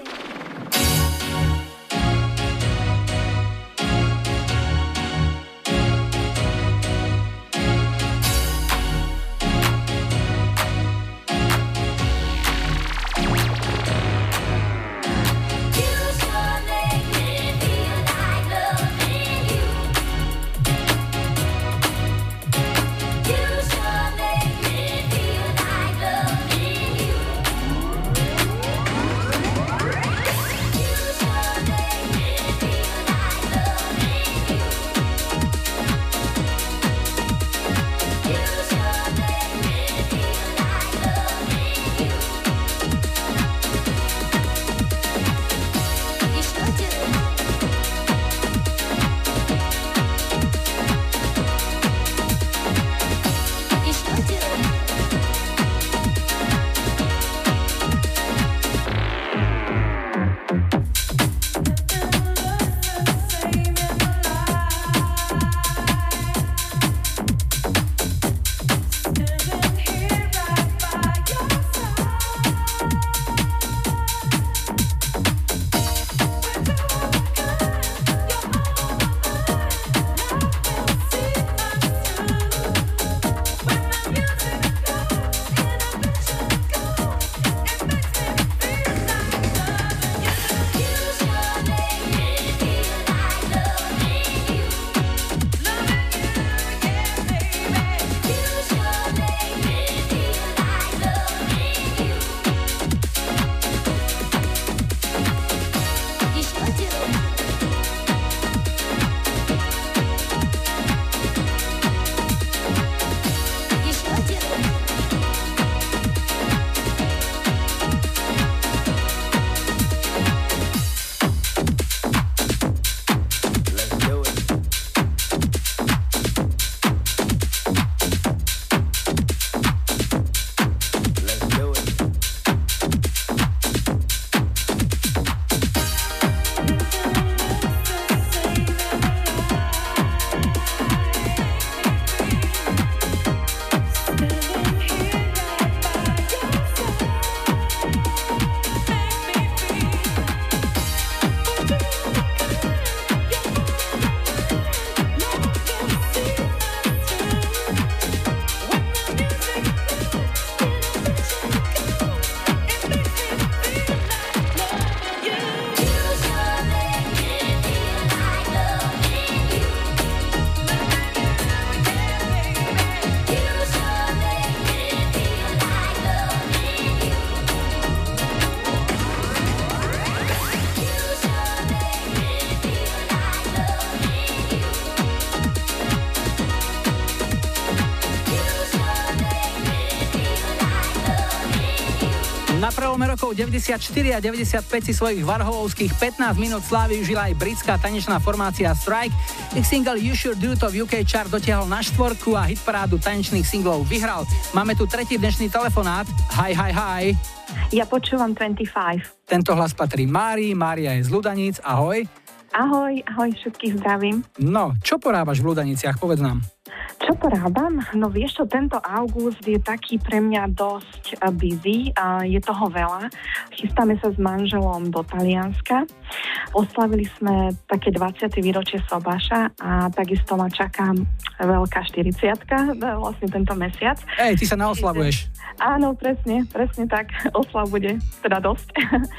Na prelome rokov deväťdesiatštyri a deväťdesiatpäť si svojich varholovských pätnásť minút slávy užila aj britská tanečná formácia Strike. Ich single You Sure Do to v ú ká chart dotiahol na štvorku a hitparádu tanečných singlov vyhral. Máme tu tretí dnešný telefonát. Hi, hi, hi. Ja počúvam dvadsaťpäť. Tento hlas patrí Márii, Mária je z Ľudaníc. Ahoj. Ahoj, ahoj, všetkých zdravím. No, čo porábaš v Ľudaniciach, povedz nám. Čo porábam? No vieš čo, tento august je taký pre mňa dosť busy, a je toho veľa. Chystáme sa s manželom do Talianska. Oslavili sme také dvadsiate výročie Sobáša a takisto ma čaká veľká štyridsiatka, vlastne tento mesiac. Ej, ty sa naoslavuješ. Áno, presne, presne tak. Oslav bude teda dosť.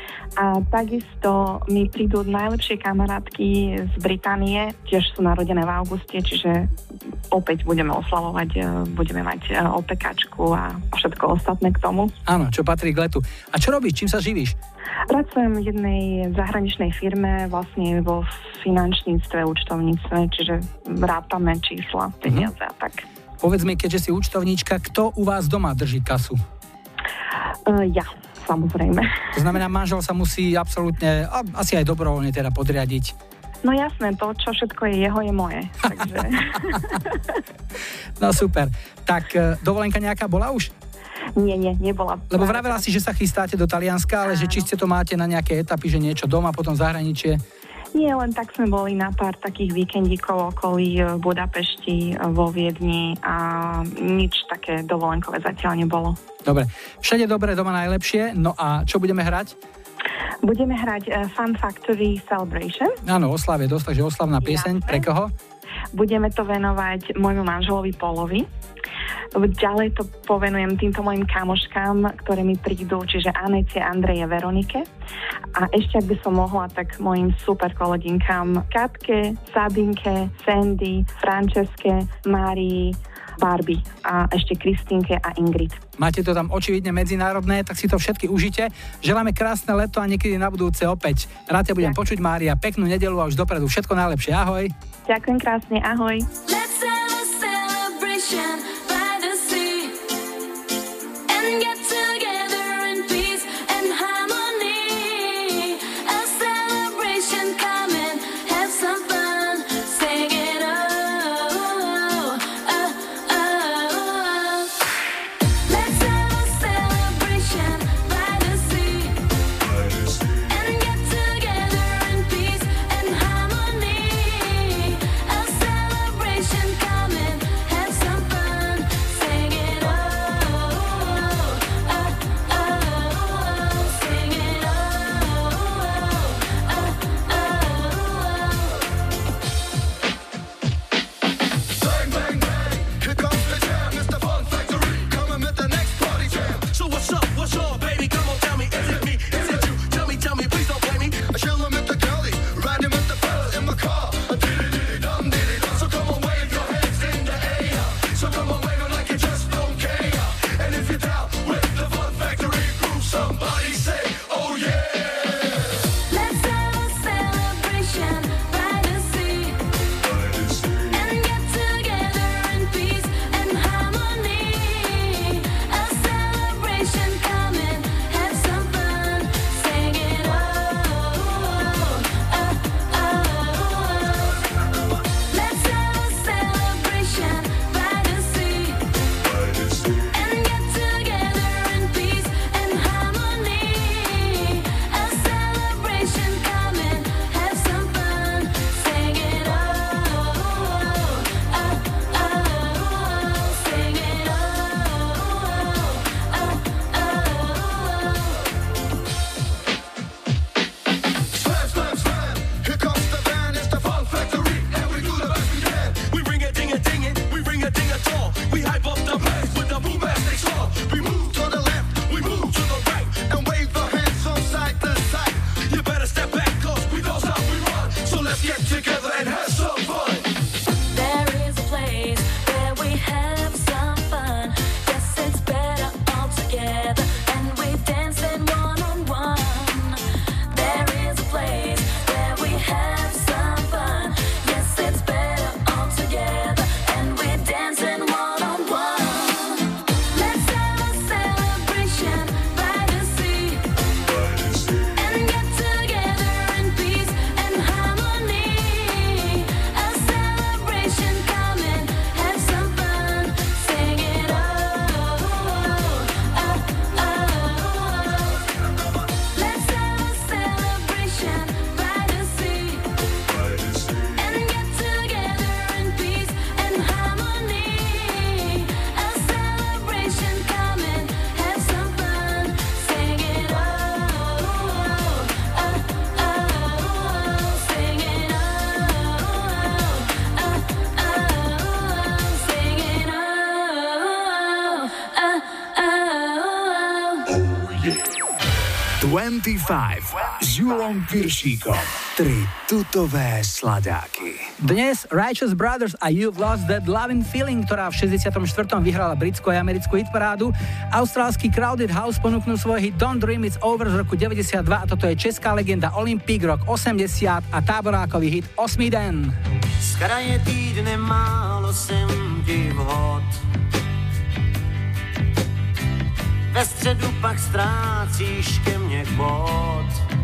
A takisto mi prídu najlepšie kamarátky z Británie, tiež sú narodené v auguste, čiže opäť budeme oslavovať, budeme mať opekačku a všetko ostatné k tomu. Áno, čo patrí k letu. A čo robíš? Čím sa živíš? Pracujem v jednej zahraničnej firme, vlastne vo finančníctve, účtovníctve, čiže rátame čísla, peniaze a tak. Povedz mi, keďže si účtovníčka, kto u vás doma drží kasu? Uh, ja, samozrejme. To znamená, manžel sa musí absolútne, asi aj dobrovoľne teda podriadiť. No jasné, to, čo všetko je jeho, je moje. Takže... No super. Tak dovolenka nejaká bola už? Nie, nie, nebola. Lebo vravela si, že sa chystáte do Talianska, ale že či ste to máte na nejaké etapy, že niečo doma, potom zahraničie? Nie, len tak sme boli na pár takých víkendíkov okolí v Budapešti, vo Viedni a nič také dovolenkové zatiaľ nebolo. Dobre, všade dobre, doma najlepšie. No a čo budeme hrať? Budeme hrať uh, Fun Factory Celebration. Áno, oslav je dosť, takže oslavná pieseň. Pre koho? Budeme to venovať môjmu manželovi Polovi. Ďalej to povenujem týmto mojim kamoškám, ktoré mi prídu, čiže Anete, Andreje, Veronike. A ešte, ak by som mohla, tak mojim super kolegynkám Katke, Sabinke, Sandy, Franceske, Márii, Barbie a ešte Kristínke a Ingrid. Máte to tam očividne medzinárodné, tak si to všetky užite. Želáme krásne leto a niekedy na budúce opäť. Rád ťa budem počuť, Mária. Peknú nedeľu a už dopredu všetko najlepšie. Ahoj. Ďakujem krásne, ahoj. Let's have a celebration by the sea and get together in peace and harmony. A celebration, come and have some fun. Sing it oh, oh, oh, oh. Let's have a celebration by the sea and get together in peace and harmony. A celebration, come and have some fun. Sing it oh, oh, oh, oh. Sing it oh, oh, oh, oh. Bang, bang, bang. Here comes the jam. It's the Fun Factory. Coming with the next party jam. So what's up? What's up, baby? Come on, tell me. Is it me? Is it you? Tell me, tell me. Please don't blame me. I chillin' with the girlie, riding with the fellas in my car. A diddy-diddy-dum, diddy-dum. So come on, wave your hands in the air. So come on, wave 'em like you just don't care. And if you're down with the Fun Factory groove, somebody say, oh yeah. Let's have a celebration by the sea and get together in peace and harmony. A celebration, come and have some fun. Sing it oh, oh, oh, oh. Let's have a celebration by the sea and get together in peace and harmony. A celebration, come and have some fun. Sing it oh, oh, oh, oh. Sing it oh, Slam, slam, slam. Here comes the band. It's the Fun Factory. And we do the best we can. We bring a ding a ding it. We bring a ding a tall. We hype up the place with the bombastic song. We move to the left. We move to the right. And wave our hands from side to side. You better step back, cause we know how we run. So let's get together and have some fun. There is a place where we have some fun. Yes, it's better all together, and we dance in one on one. There is a place where we have some fun. Yes, it's better all together, and we dance in one on one. Let's have a celebration by the sea and get together in peace and harmony. A celebration, come and have some fun. Sing it oh, oh, oh, oh. Let's have a celebration by the sea and get together in peace and harmony. A celebration, come and have some fun. Sing it oh, oh, oh, oh. Sing it oh, oh, oh. Sing it oh, oh, oh. dvadsaťpäť s Julom Piršíkom. Tri tutové sladáky. Dnes Righteous Brothers a You've Lost That Lovin' Feeling, ktorá v šesťdesiatom štvrtom vyhrala britskú a americkú hitparádu. Austrálsky Crowded House ponúknul svoj hit Don't Dream It's Over z roku deväťdesiatdva a toto je česká legenda Olympic rok osemdesiat a táborákový hit Osmý den. Z kraje týdne málo jsem ti vhod. Ve středu pak ztrácíš ke mně bod.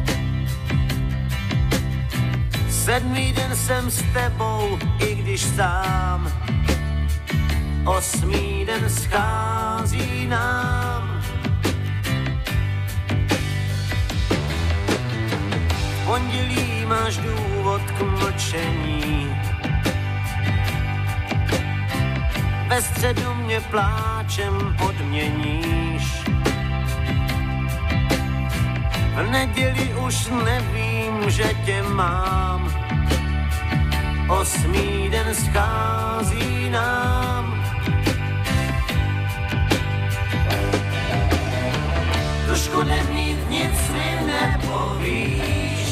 Sedmý den jsem s tebou, i když sám. Osmý den schází nám. V pondělí máš důvod důvod k mlčení. Ve středu mě pláčem odměníš. V neděli už nevím, že tě mám. Osmý den schází nám. Trošku nemít, nic mi nepovíš.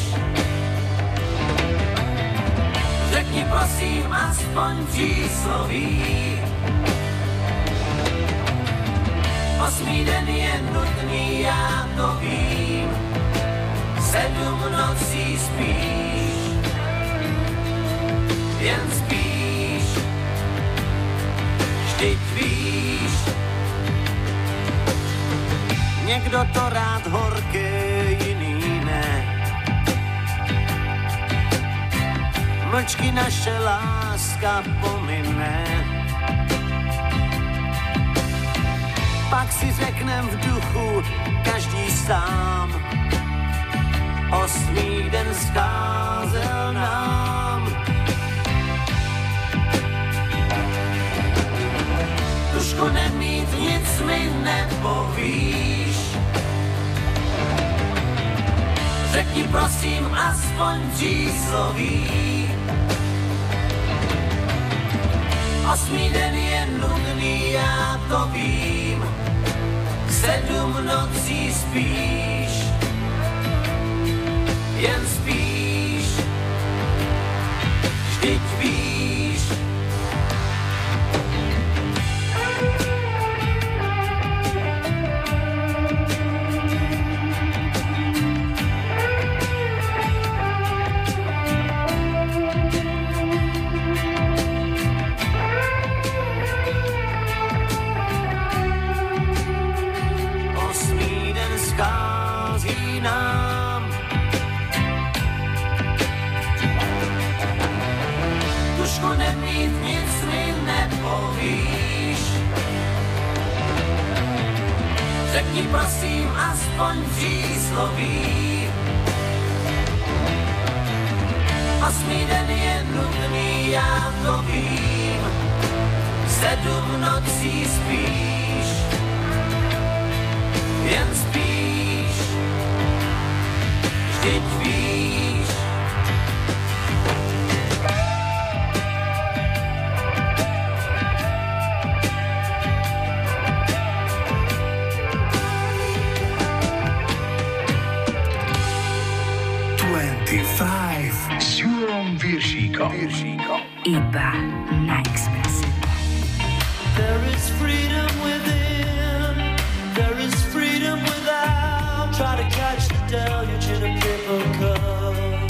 Řekni prosím aspoň čísloví. Osmý den je nutný, já to vím. Sedm nocí spíš, jen spíš. Vždyť víš, někdo to rád horké, jiný ne. Mlčky naše láska pomine. Pak si řeknem v duchu každý sám. Osmý den scházel nám. Tušku nemít, nic mi nepovíš. Řekni prosím aspoň čísloví. Osmý den je nudný, já to vím. Sedm nocí spíš, jen spíš. Vždyť víš. Schází nám. Tušku nemít, nic mi nepovíš. Řekni prosím aspoň čísloví. Osmý den je nudný, já to vím. Sedm nocí spíš, jen spíš. Vždyť víš. dvadsaťpäť s Júlom Viršíkom. Iba na Expresse. There is freedom within, there is freedom without. Try to catch the deluge in a paper cup.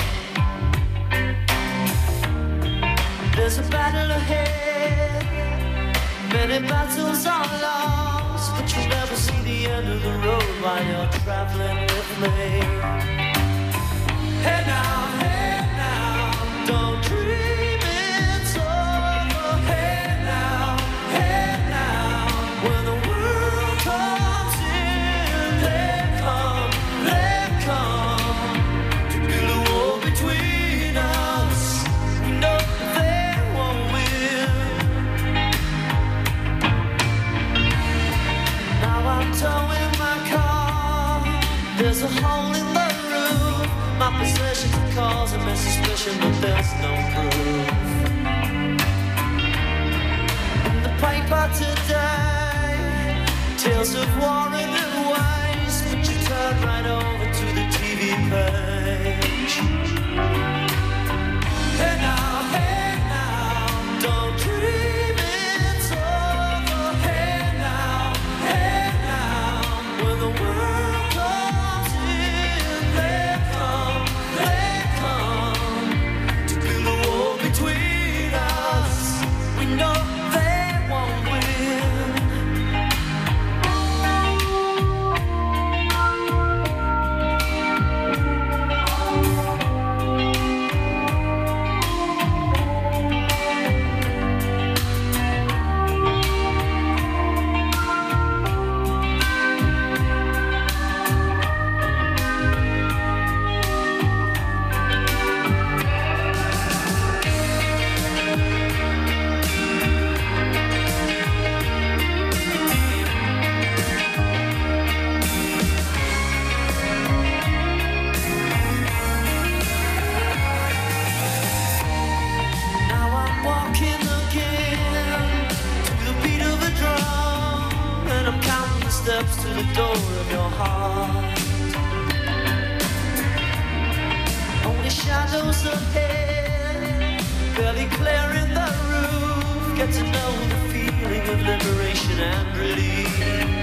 There's a battle ahead, many battles are lost, but you'll never see the end of the road while you're traveling with me. Hey now, hey now, don't dream it's over. Hey now, hey now, when the world comes in, they come, they come to build a wall between us. We know they won't win. Now I'm towing my car, there's a hole in the roof. My possessions are causing me suspicion, but there's no proof. In the paper today, tales of war and waste, but you turn right over to the T V page. Hey now, hey now, don't dream it's over. Hey now, hey now, when the world comes in, they come, they come to build a wall between us. We know they won't win. ahead, barely clearing the roof. Get to know the feeling of liberation and release.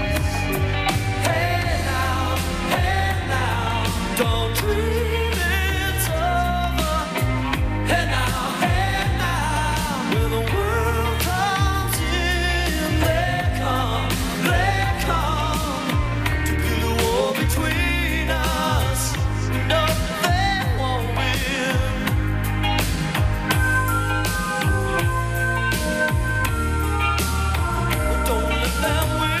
Hey now, hey now, don't dream it's over. Hey now, hey now, when the world comes in, they come, they come to build a wall between us. No, they won't win. Don't let them win.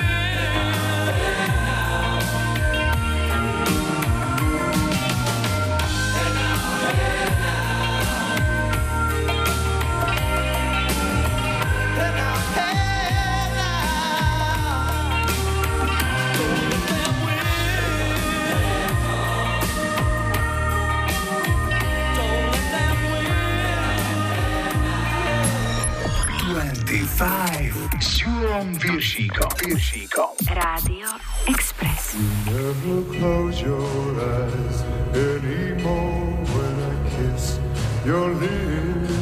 dvadsaťpäť s Júlom Piršíkom. Piršíkom. Rádio Express. Never close your eyes anymore when I kiss your lips.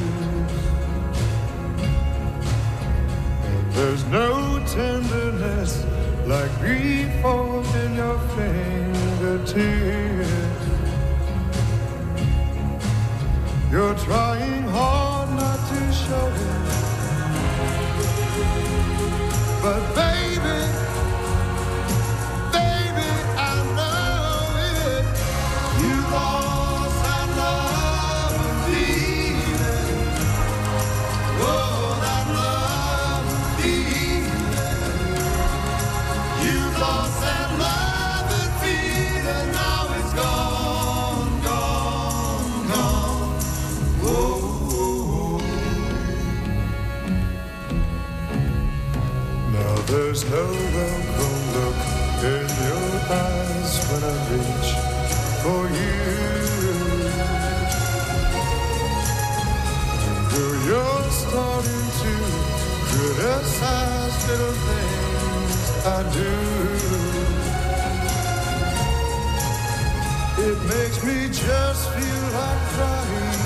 And there's no tenderness like grief formed in your fingertips. You're trying hard not to show it, but baby, baby, I know it. You lost that love and feeling. Oh, that love and feeling. You lost that love and feeling. Now it's gone, gone, gone. Oh. Now there's no welcome look in your eyes when I reach for you. And though you're starting to criticize little things I do, it makes me just feel like crying.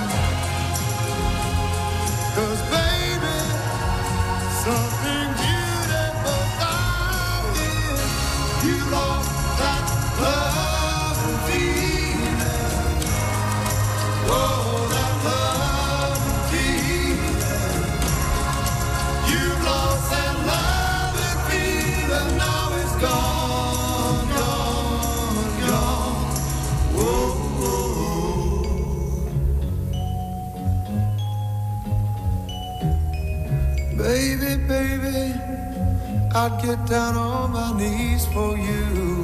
'Cause baby, something beautiful found in you. Lost that love and feeling. Oh, that love and feeling. You lost that love and feeling. Now it's gone, gone, gone. Whoa, whoa. Baby, baby, I'd get down on my knees for you.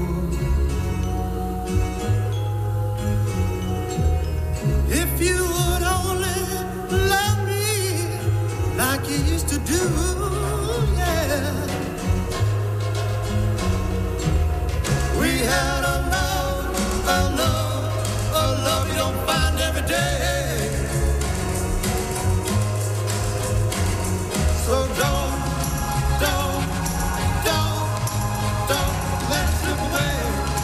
If you would only love me like you used to do, yeah. We had a love, a love, a love you don't find every day. So don't, don't, don't, don't let it slip away.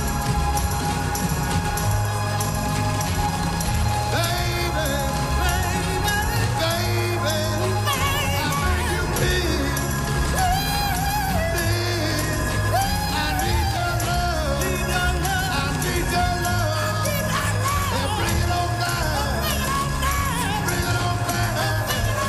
Baby, baby, baby, I beg you please, please, I need your love, I need your love, and bring it on down, bring it on down.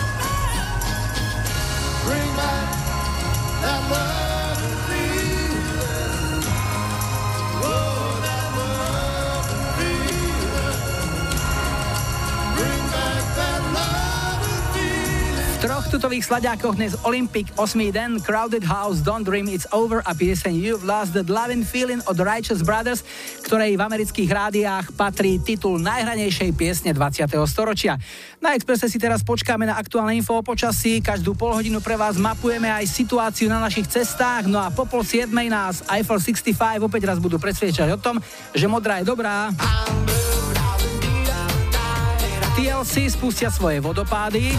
Bring back that love and feeling. Oh, that love and feeling. Bring back that love and feeling. V troch tutových slaďákoch dnes Olympic, osmý den, Crowded House, Don't Dream It's Over a pieseň You've Lost That Love and Feeling od Righteous Brothers, ktorej v amerických rádiách patrí titul najhranejšej piesne dvadsiateho storočia. Na Expresse si teraz počkáme na aktuálne info o počasí, každú pol hodinu pre vás mapujeme aj situáciu na našich cestách, no a po pol siedmej nás Eiffel šesťdesiatpäť opäť raz budú presviečať o tom, že modrá je dobrá. té el cé spustia svoje vodopády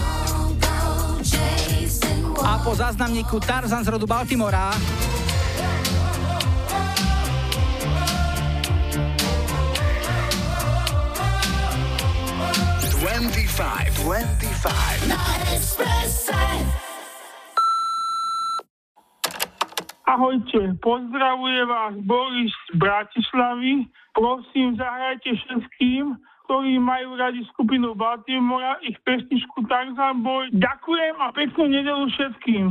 a po záznamníku Tarzan z rodu Baltimora dvadsaťpäť. dvadsaťpäť. Na Expresse. Ahojte, pozdravuje vás Boris z Bratislavy. Prosím, zahrajte všetkým, ktorí majú radi skupinu Baltimora, ich pesničku Tarzan Boy. Ďakujem a peknú nedeľu všetkým.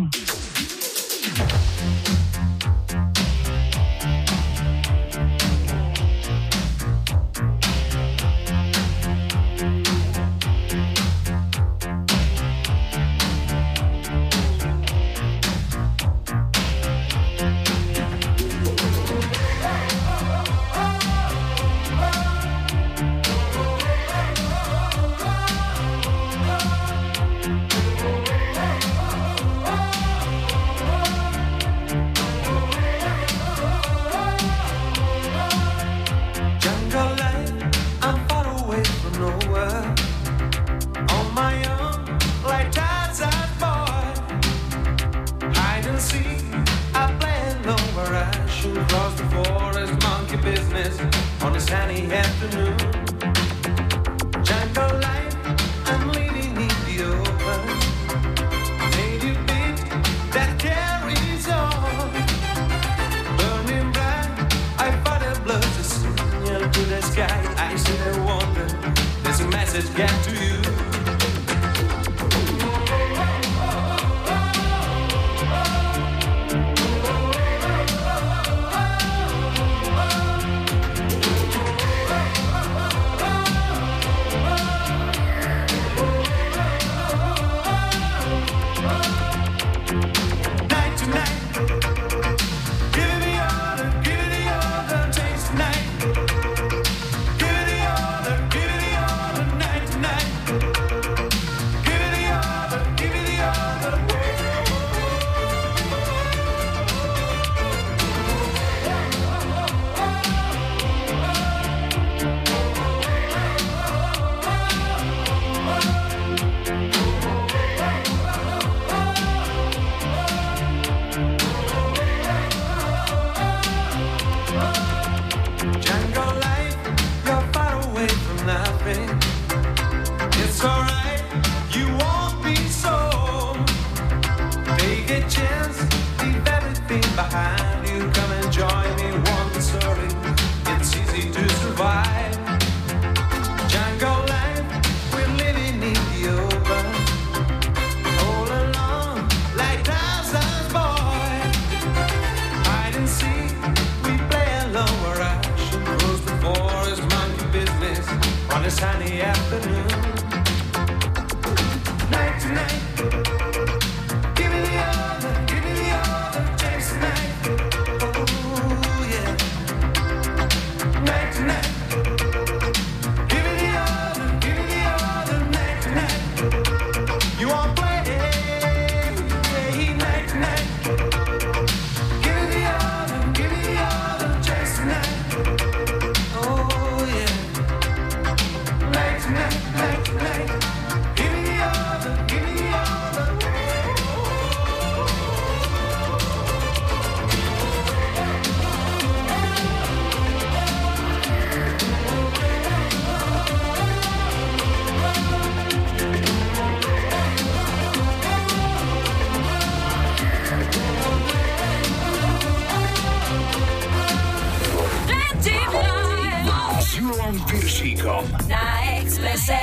Na Expresse.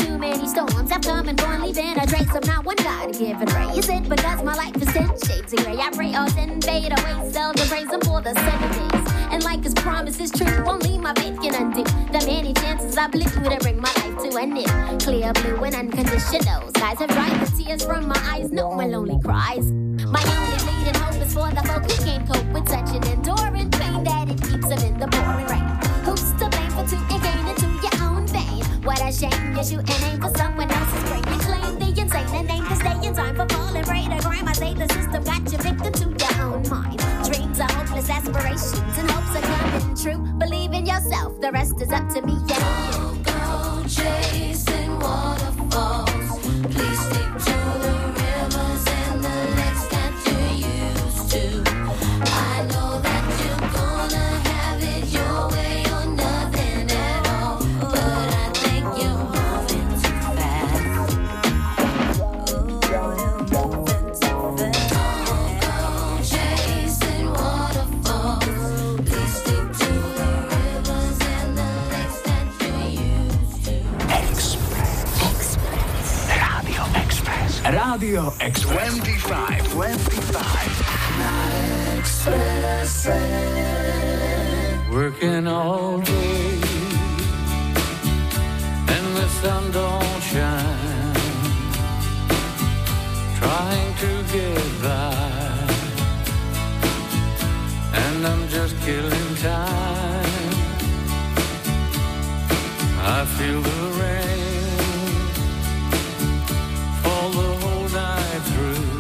too many storms have come and gone, leaving a trace of not one God-given ray. Is it because my life is ten shades of gray? I pray all ten fade away, seldom praise him for the seven days. And like his promise is true, only my faith can undo the many chances I blew to bring my life to an end. Clear blue and unconditional skies have dried the tears from my eyes, no more lonely cries. My only leading hope is for the folk who can't cope with such an enduring pain that it keeps them in the pouring rain. Who's to blame for taking gain into your own vein? What a shame you shoot an aim for someone else's brain. You claim the insane and aim to stay in time for falling prey to crime. I say the system got you victim to your own mind. Dreams are hopeless aspirations and hopes are coming true. Believe in yourself, the rest is up to me and you. Go chasing waterfalls. Please stick to the rivers and the lakes that you used to. I know that you're gonna have it your way or nothing at all, but I think you're moving too fast. Oh, you're moving too fast. Go chasing waterfalls. Please stick to the rivers and the lakes that you used to. Express. Radio Express. Radio Express. twenty-five. twenty-five. Express. Working all day and the sun don't shine, trying to get by, and I'm just killing time. I feel the rain fall the whole night through,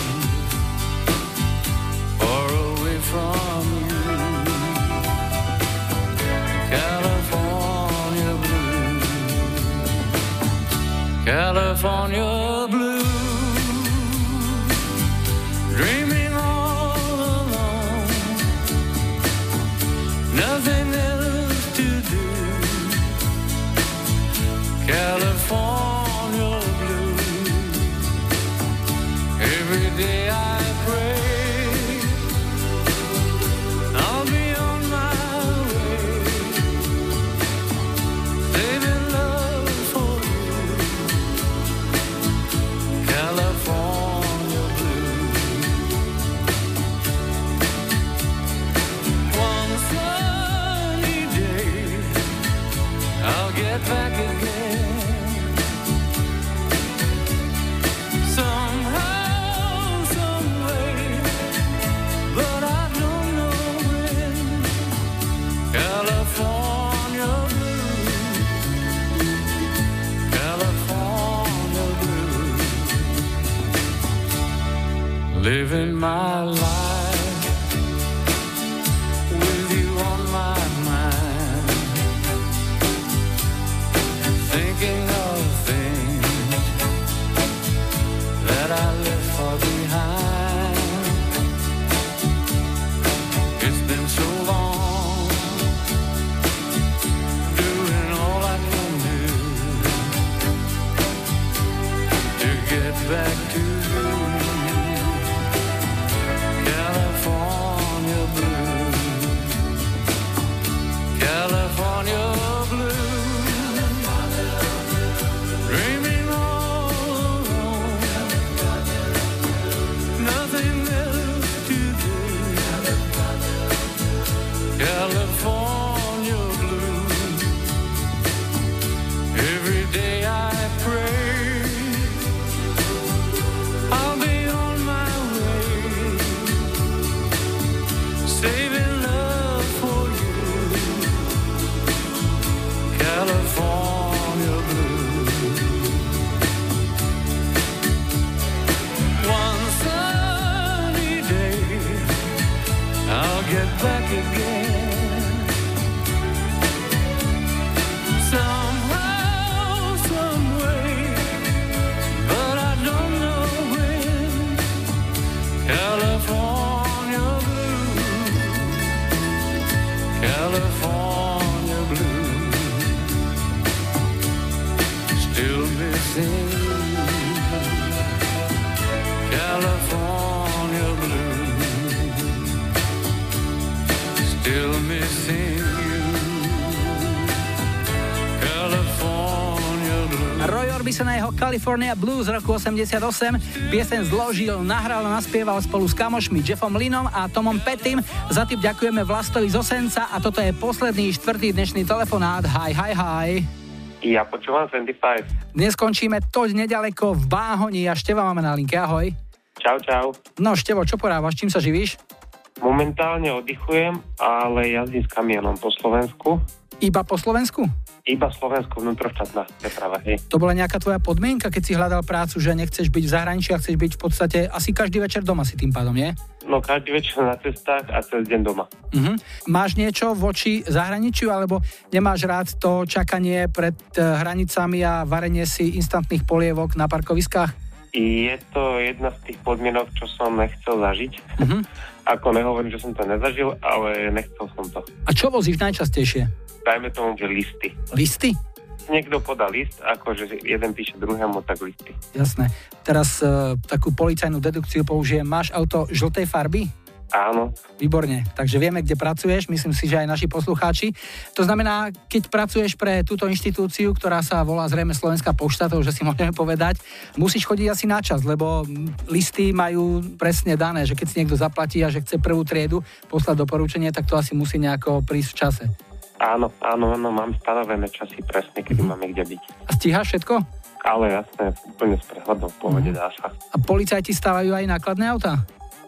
far away from you. California blue, California blue, dreaming all alone, nothing else to do. California blue, every day I pray I'll be on my way, saving love for you. California blue. One sunny day I'll get back again. Somehow, someway, but I don't know when. California blue, California blue, living my life with you on my mind, thinking of things that I left far behind. It's been so long, doing all I can do to get back to you. California blue, California blue, dreaming all alone, nothing else to do. California blue, every day I pray I'll be on my way, saving love for you. California blue. One sunny day I'll get back again. Somehow, someway, but I don't know when. California blue, California blue, still missing you. California blue, still missing you. California blue. Roy Roy Orbison a jeho California Blues z roku osemdesiatosem. Pieseň zložil, nahral a naspieval spolu s kamošmi Jeffom Linom a Tomom Pettym. Za tip ďakujeme Vlastovi z Osenca a toto je posledný štvrtý dnešný telefonát. Hi, hi, hi. Ja počúvam dvadsaťpäť. Dnes skončíme toť nedaleko v Báhoni a Števa máme na linke. Ahoj. Čau, čau. No Števo, čo porávaš? Čím sa živíš? Momentálne oddychujem, ale jazdím s kamionom po Slovensku. Iba po Slovensku? Iba Slovensku, vnútroštátna preprava, hej. To bola nejaká tvoja podmienka, keď si hľadal prácu, že nechceš byť v zahraničí a chceš byť v podstate asi každý večer doma si tým pádom, nie? No každý večer na cestách a cez deň doma. Uh-huh. Máš niečo voči zahraničiu, alebo nemáš rád to čakanie pred uh, hranicami a varenie si instantných polievok na parkoviskách? Je to jedna z tých podmienok, čo som nechcel zažiť. Uh-huh. Ako nehovorím, že som to nezažil, ale nechcel som to. A čo vozíš najčastejšie? Dajme tomu, že listy. Listy? Niekto podá list, akože jeden píše druhému, tak listy. Jasné. Teraz uh, takú policajnú dedukciu použijem. Máš auto žltej farby? Áno. Výborne, takže vieme, kde pracuješ, myslím si, že aj naši poslucháči. To znamená, keď pracuješ pre túto inštitúciu, ktorá sa volá zrejme Slovenská pošta, to už si môžeme povedať, musíš chodiť asi na čas, lebo listy majú presne dané, že keď si niekto zaplatí a že chce prvú triedu poslať doporučenie, tak to asi musí nejako prísť v čase. Áno, áno, áno, mám stanovené časy presne, kedy mm. máme kde byť. A stíhaš všetko? Ale jasné, úplne s prehľadom, v pohode mm. dá sa. A policajti stávajú aj nákladné autá?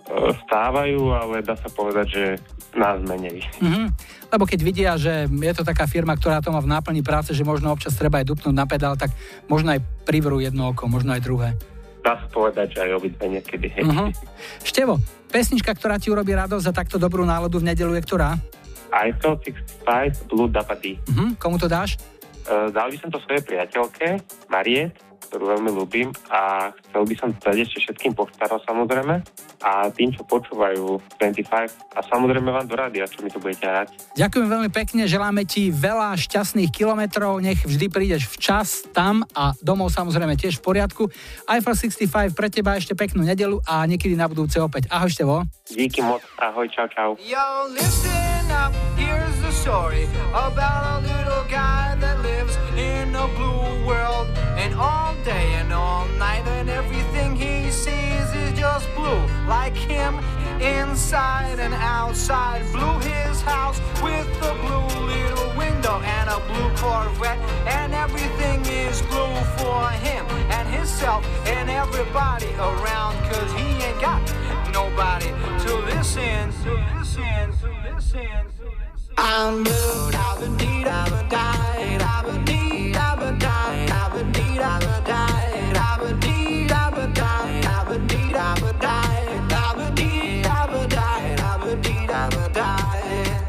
Stávajú, ale dá sa povedať, že nás menej. Mm-hmm. Lebo keď vidia, že je to taká firma, ktorá to má v náplni práce, že možno občas treba aj dupnúť na pedál, tak možno aj privrú jedno oko, možno aj druhé. Dá sa povedať, že aj obidve niekedy. Mm-hmm. Števo, pesnička, ktorá ti urobí radosť a takto dobrú náladu v nedeľu je ktorá? Eiffel šesťdesiatpäť Blue Dabadi. Mm-hmm. Komu to dáš? Uh, dal by som to svojej priateľke, Mariet, ktorú veľmi ľúbim a chcel by som dať ešte všetkým poštárom samozrejme a tým, čo počúvajú dvadsaťpäť a samozrejme vám do rádia, čo mi to budete hrať. Ďakujem veľmi pekne, želáme ti veľa šťastných kilometrov, nech vždy prídeš včas tam a domov samozrejme tiež v poriadku. Eiffel šesťdesiatpäť pre teba ešte peknú nedeľu a niekedy na budúce opäť. Ahoj Števo. Díky moc, ahoj, čau, čau. Yo, listen up, here's the story about a little guy that lives in a blue world. And all day and all night and everything he sees is just blue. Like him, inside and outside. Blue his house with a blue little window and a blue Corvette. And everything is blue for him and himself and everybody around. Cause he ain't got nobody to listen, to listen, to listen, to listen. I'm blue, I've been deed, I've been died, I've been deed, I've been died, I've been deed, I've been died, I've been deed, I've been died, I've been deed, I've been died, I've been deed, I've been died, I've been deed, I've been died.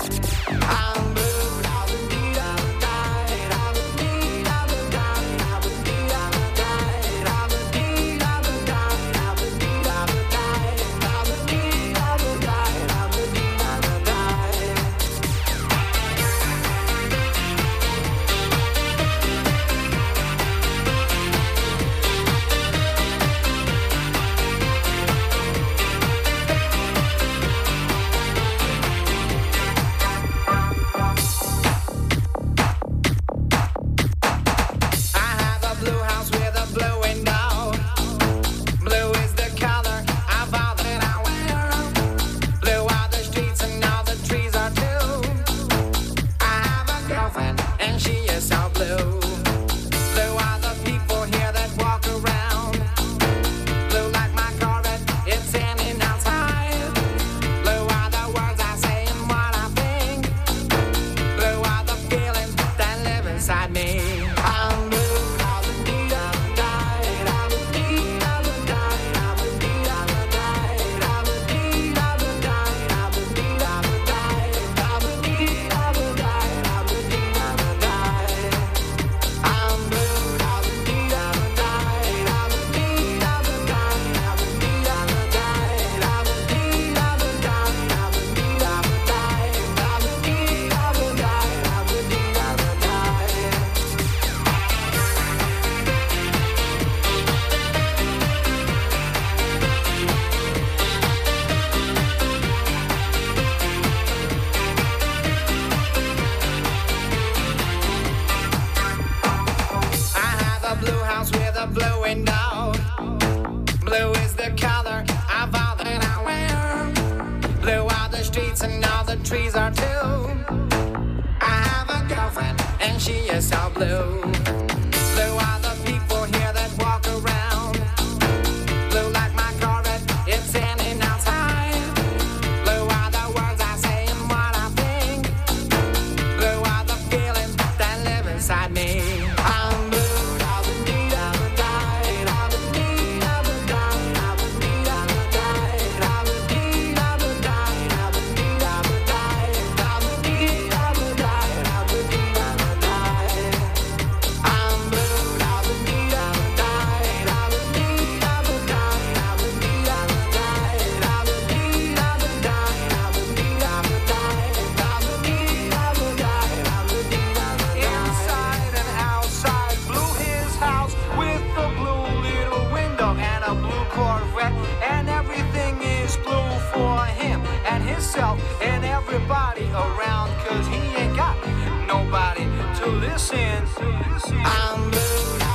I'm blue, I've been deed, I've been died, I've been deed, I've been died, I've been deed, I've been died, I've been deed, I've been died, I've been deed, I've been died, I've been deed, I've been died, I've been deed, I've been died. blowing down. Blue is the color of all that I wear. Blue are the streets and all the trees are too. I have a girlfriend and she is so blue. Blue are the people here that walk around. Blue like my Corvette, it's standing outside. Blue are the words I say and what I think. Blue are the feelings that live inside me. I'm blue. And everybody around, cause he ain't got nobody to listen. I'm blue.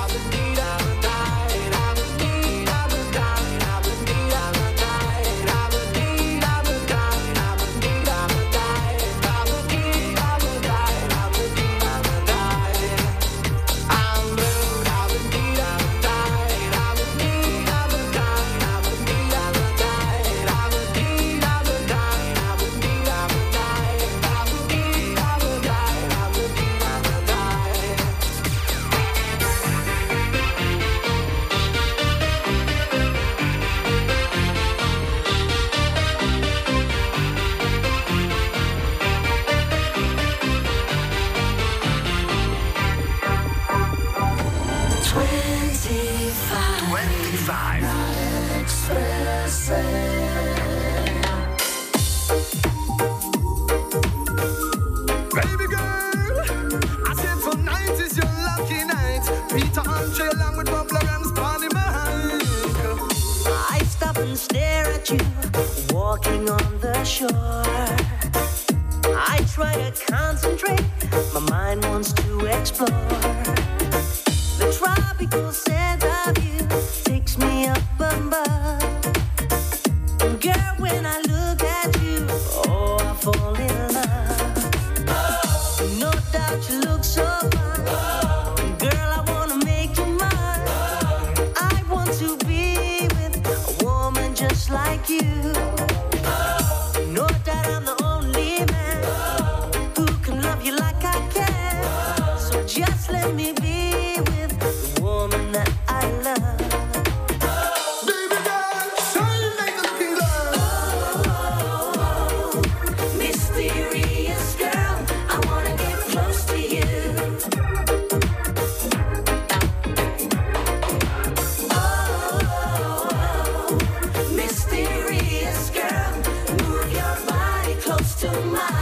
Walking on the shore, I try to concentrate. My mind wants to explore. The tropical scent of you takes me up above. Girl, when I look at you, oh, I fall in love. No doubt you look so fine. Girl, I wanna make you mine. I want to be with a woman just like you. Just let me be with the woman that I love. Baby girl, shine like a king girl. Oh, mysterious girl, I wanna get close to you. Oh, mysterious girl, move your body close to mine.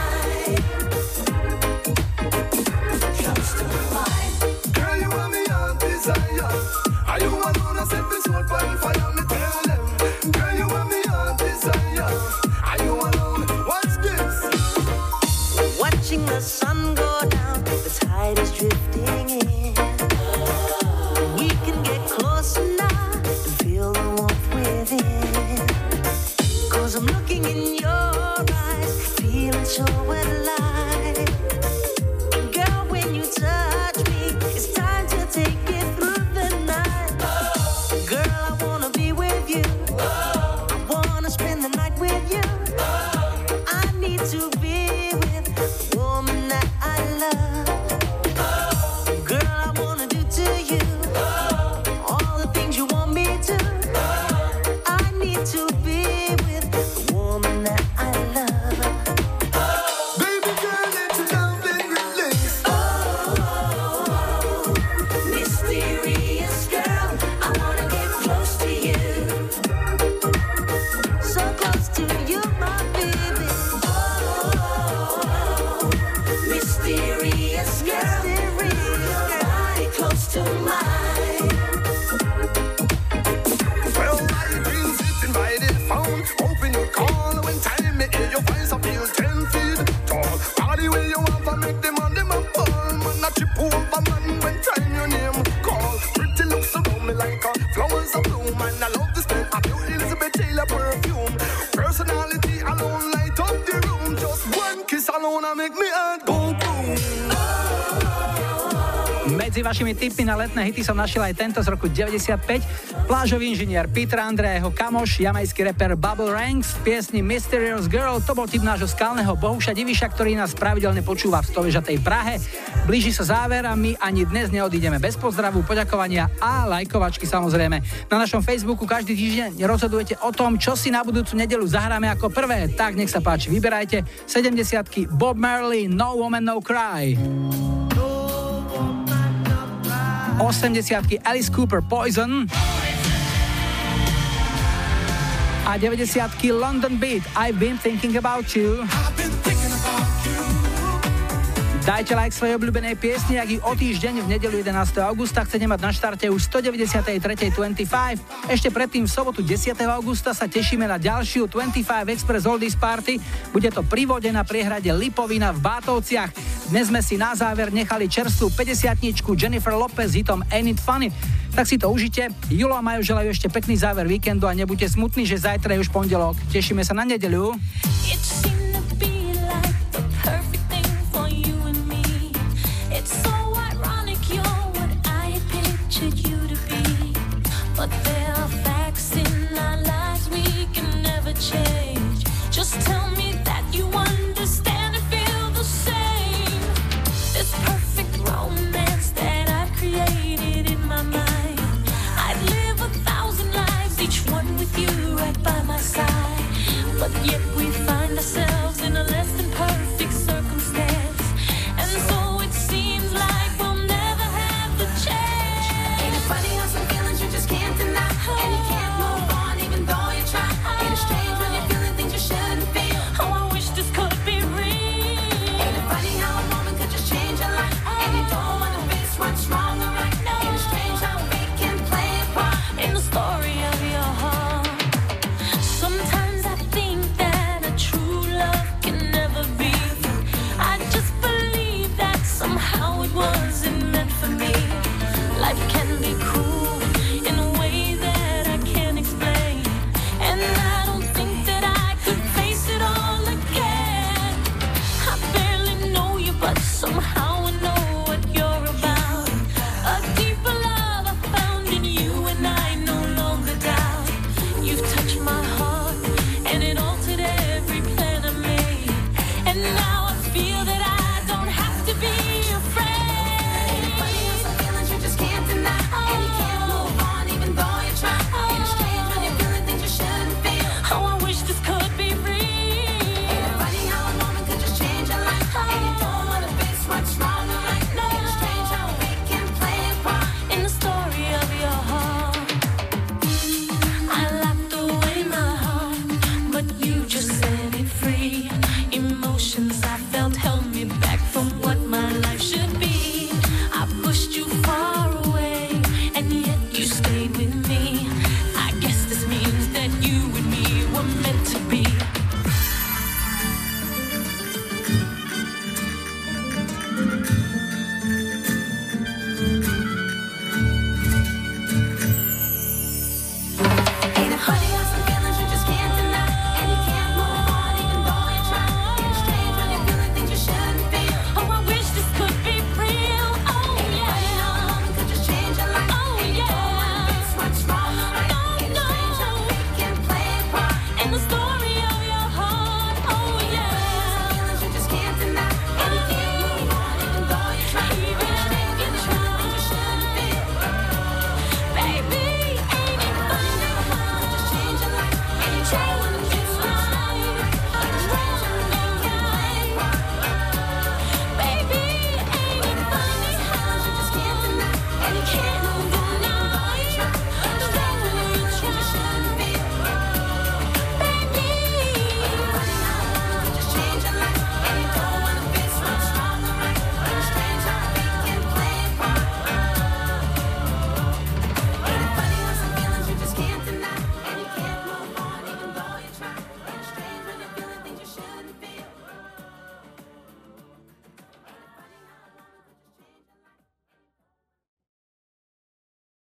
The sun go down, the tide is drifting in. We can get closer now and feel the warmth within. Cause I'm looking in your eyes, feeling so alive. Girl, when you touch me, it's time to take it through the night. Girl, I wanna be with and I love the smell of your Elizabeth Taylor perfume. Personality alone light up the room. Just one kiss alone and make me heart go boom. Medzi vašimi tipmi na letné hity som našiel aj tento z roku deväťdesiatpäť. Plážový inžinier Peter Andre a jeho kamoš, jamajský rapper Bubble Ranks v piesni Mysterious Girl. To bol tip nášho skalného Bohuša Diviša, ktorý nás pravidelne počúva v stovežatej Prahe. Blíži sa záver a my ani dnes neodídeme bez pozdravu, poďakovania a lajkovačky samozrejme. Na našom Facebooku každý týždeň rozhodujete o tom, čo si na budúcu nedeľu zahráme ako prvé. Tak nech sa páči, vyberajte. sedemdesiatky Bob Marley, No Woman No Cry. osemdesiatky Alice Cooper, Poison. A deväťdesiatky London Beat, I've been thinking about you. Dajte like svojej obľúbenej piesni, ak ich o týždeň v nedeľu jedenásteho augusta chcete mať na štarte už stodeväťdesiattri dvadsaťpäť. Ešte predtým v sobotu desiateho augusta sa tešíme na ďalšiu dvadsaťpäť Express Oldies Party. Bude to pri vode na priehrade Lipovina v Bátovciach. Dnes sme si na záver nechali čerstvú päťdesiatničku Jennifer Lopez s hitom Ain't It Funny. Tak si to užite. Julo a Majo želajú ešte pekný záver víkendu a nebuďte smutní, že zajtra je už pondelok. Tešíme sa na nedeľu. But there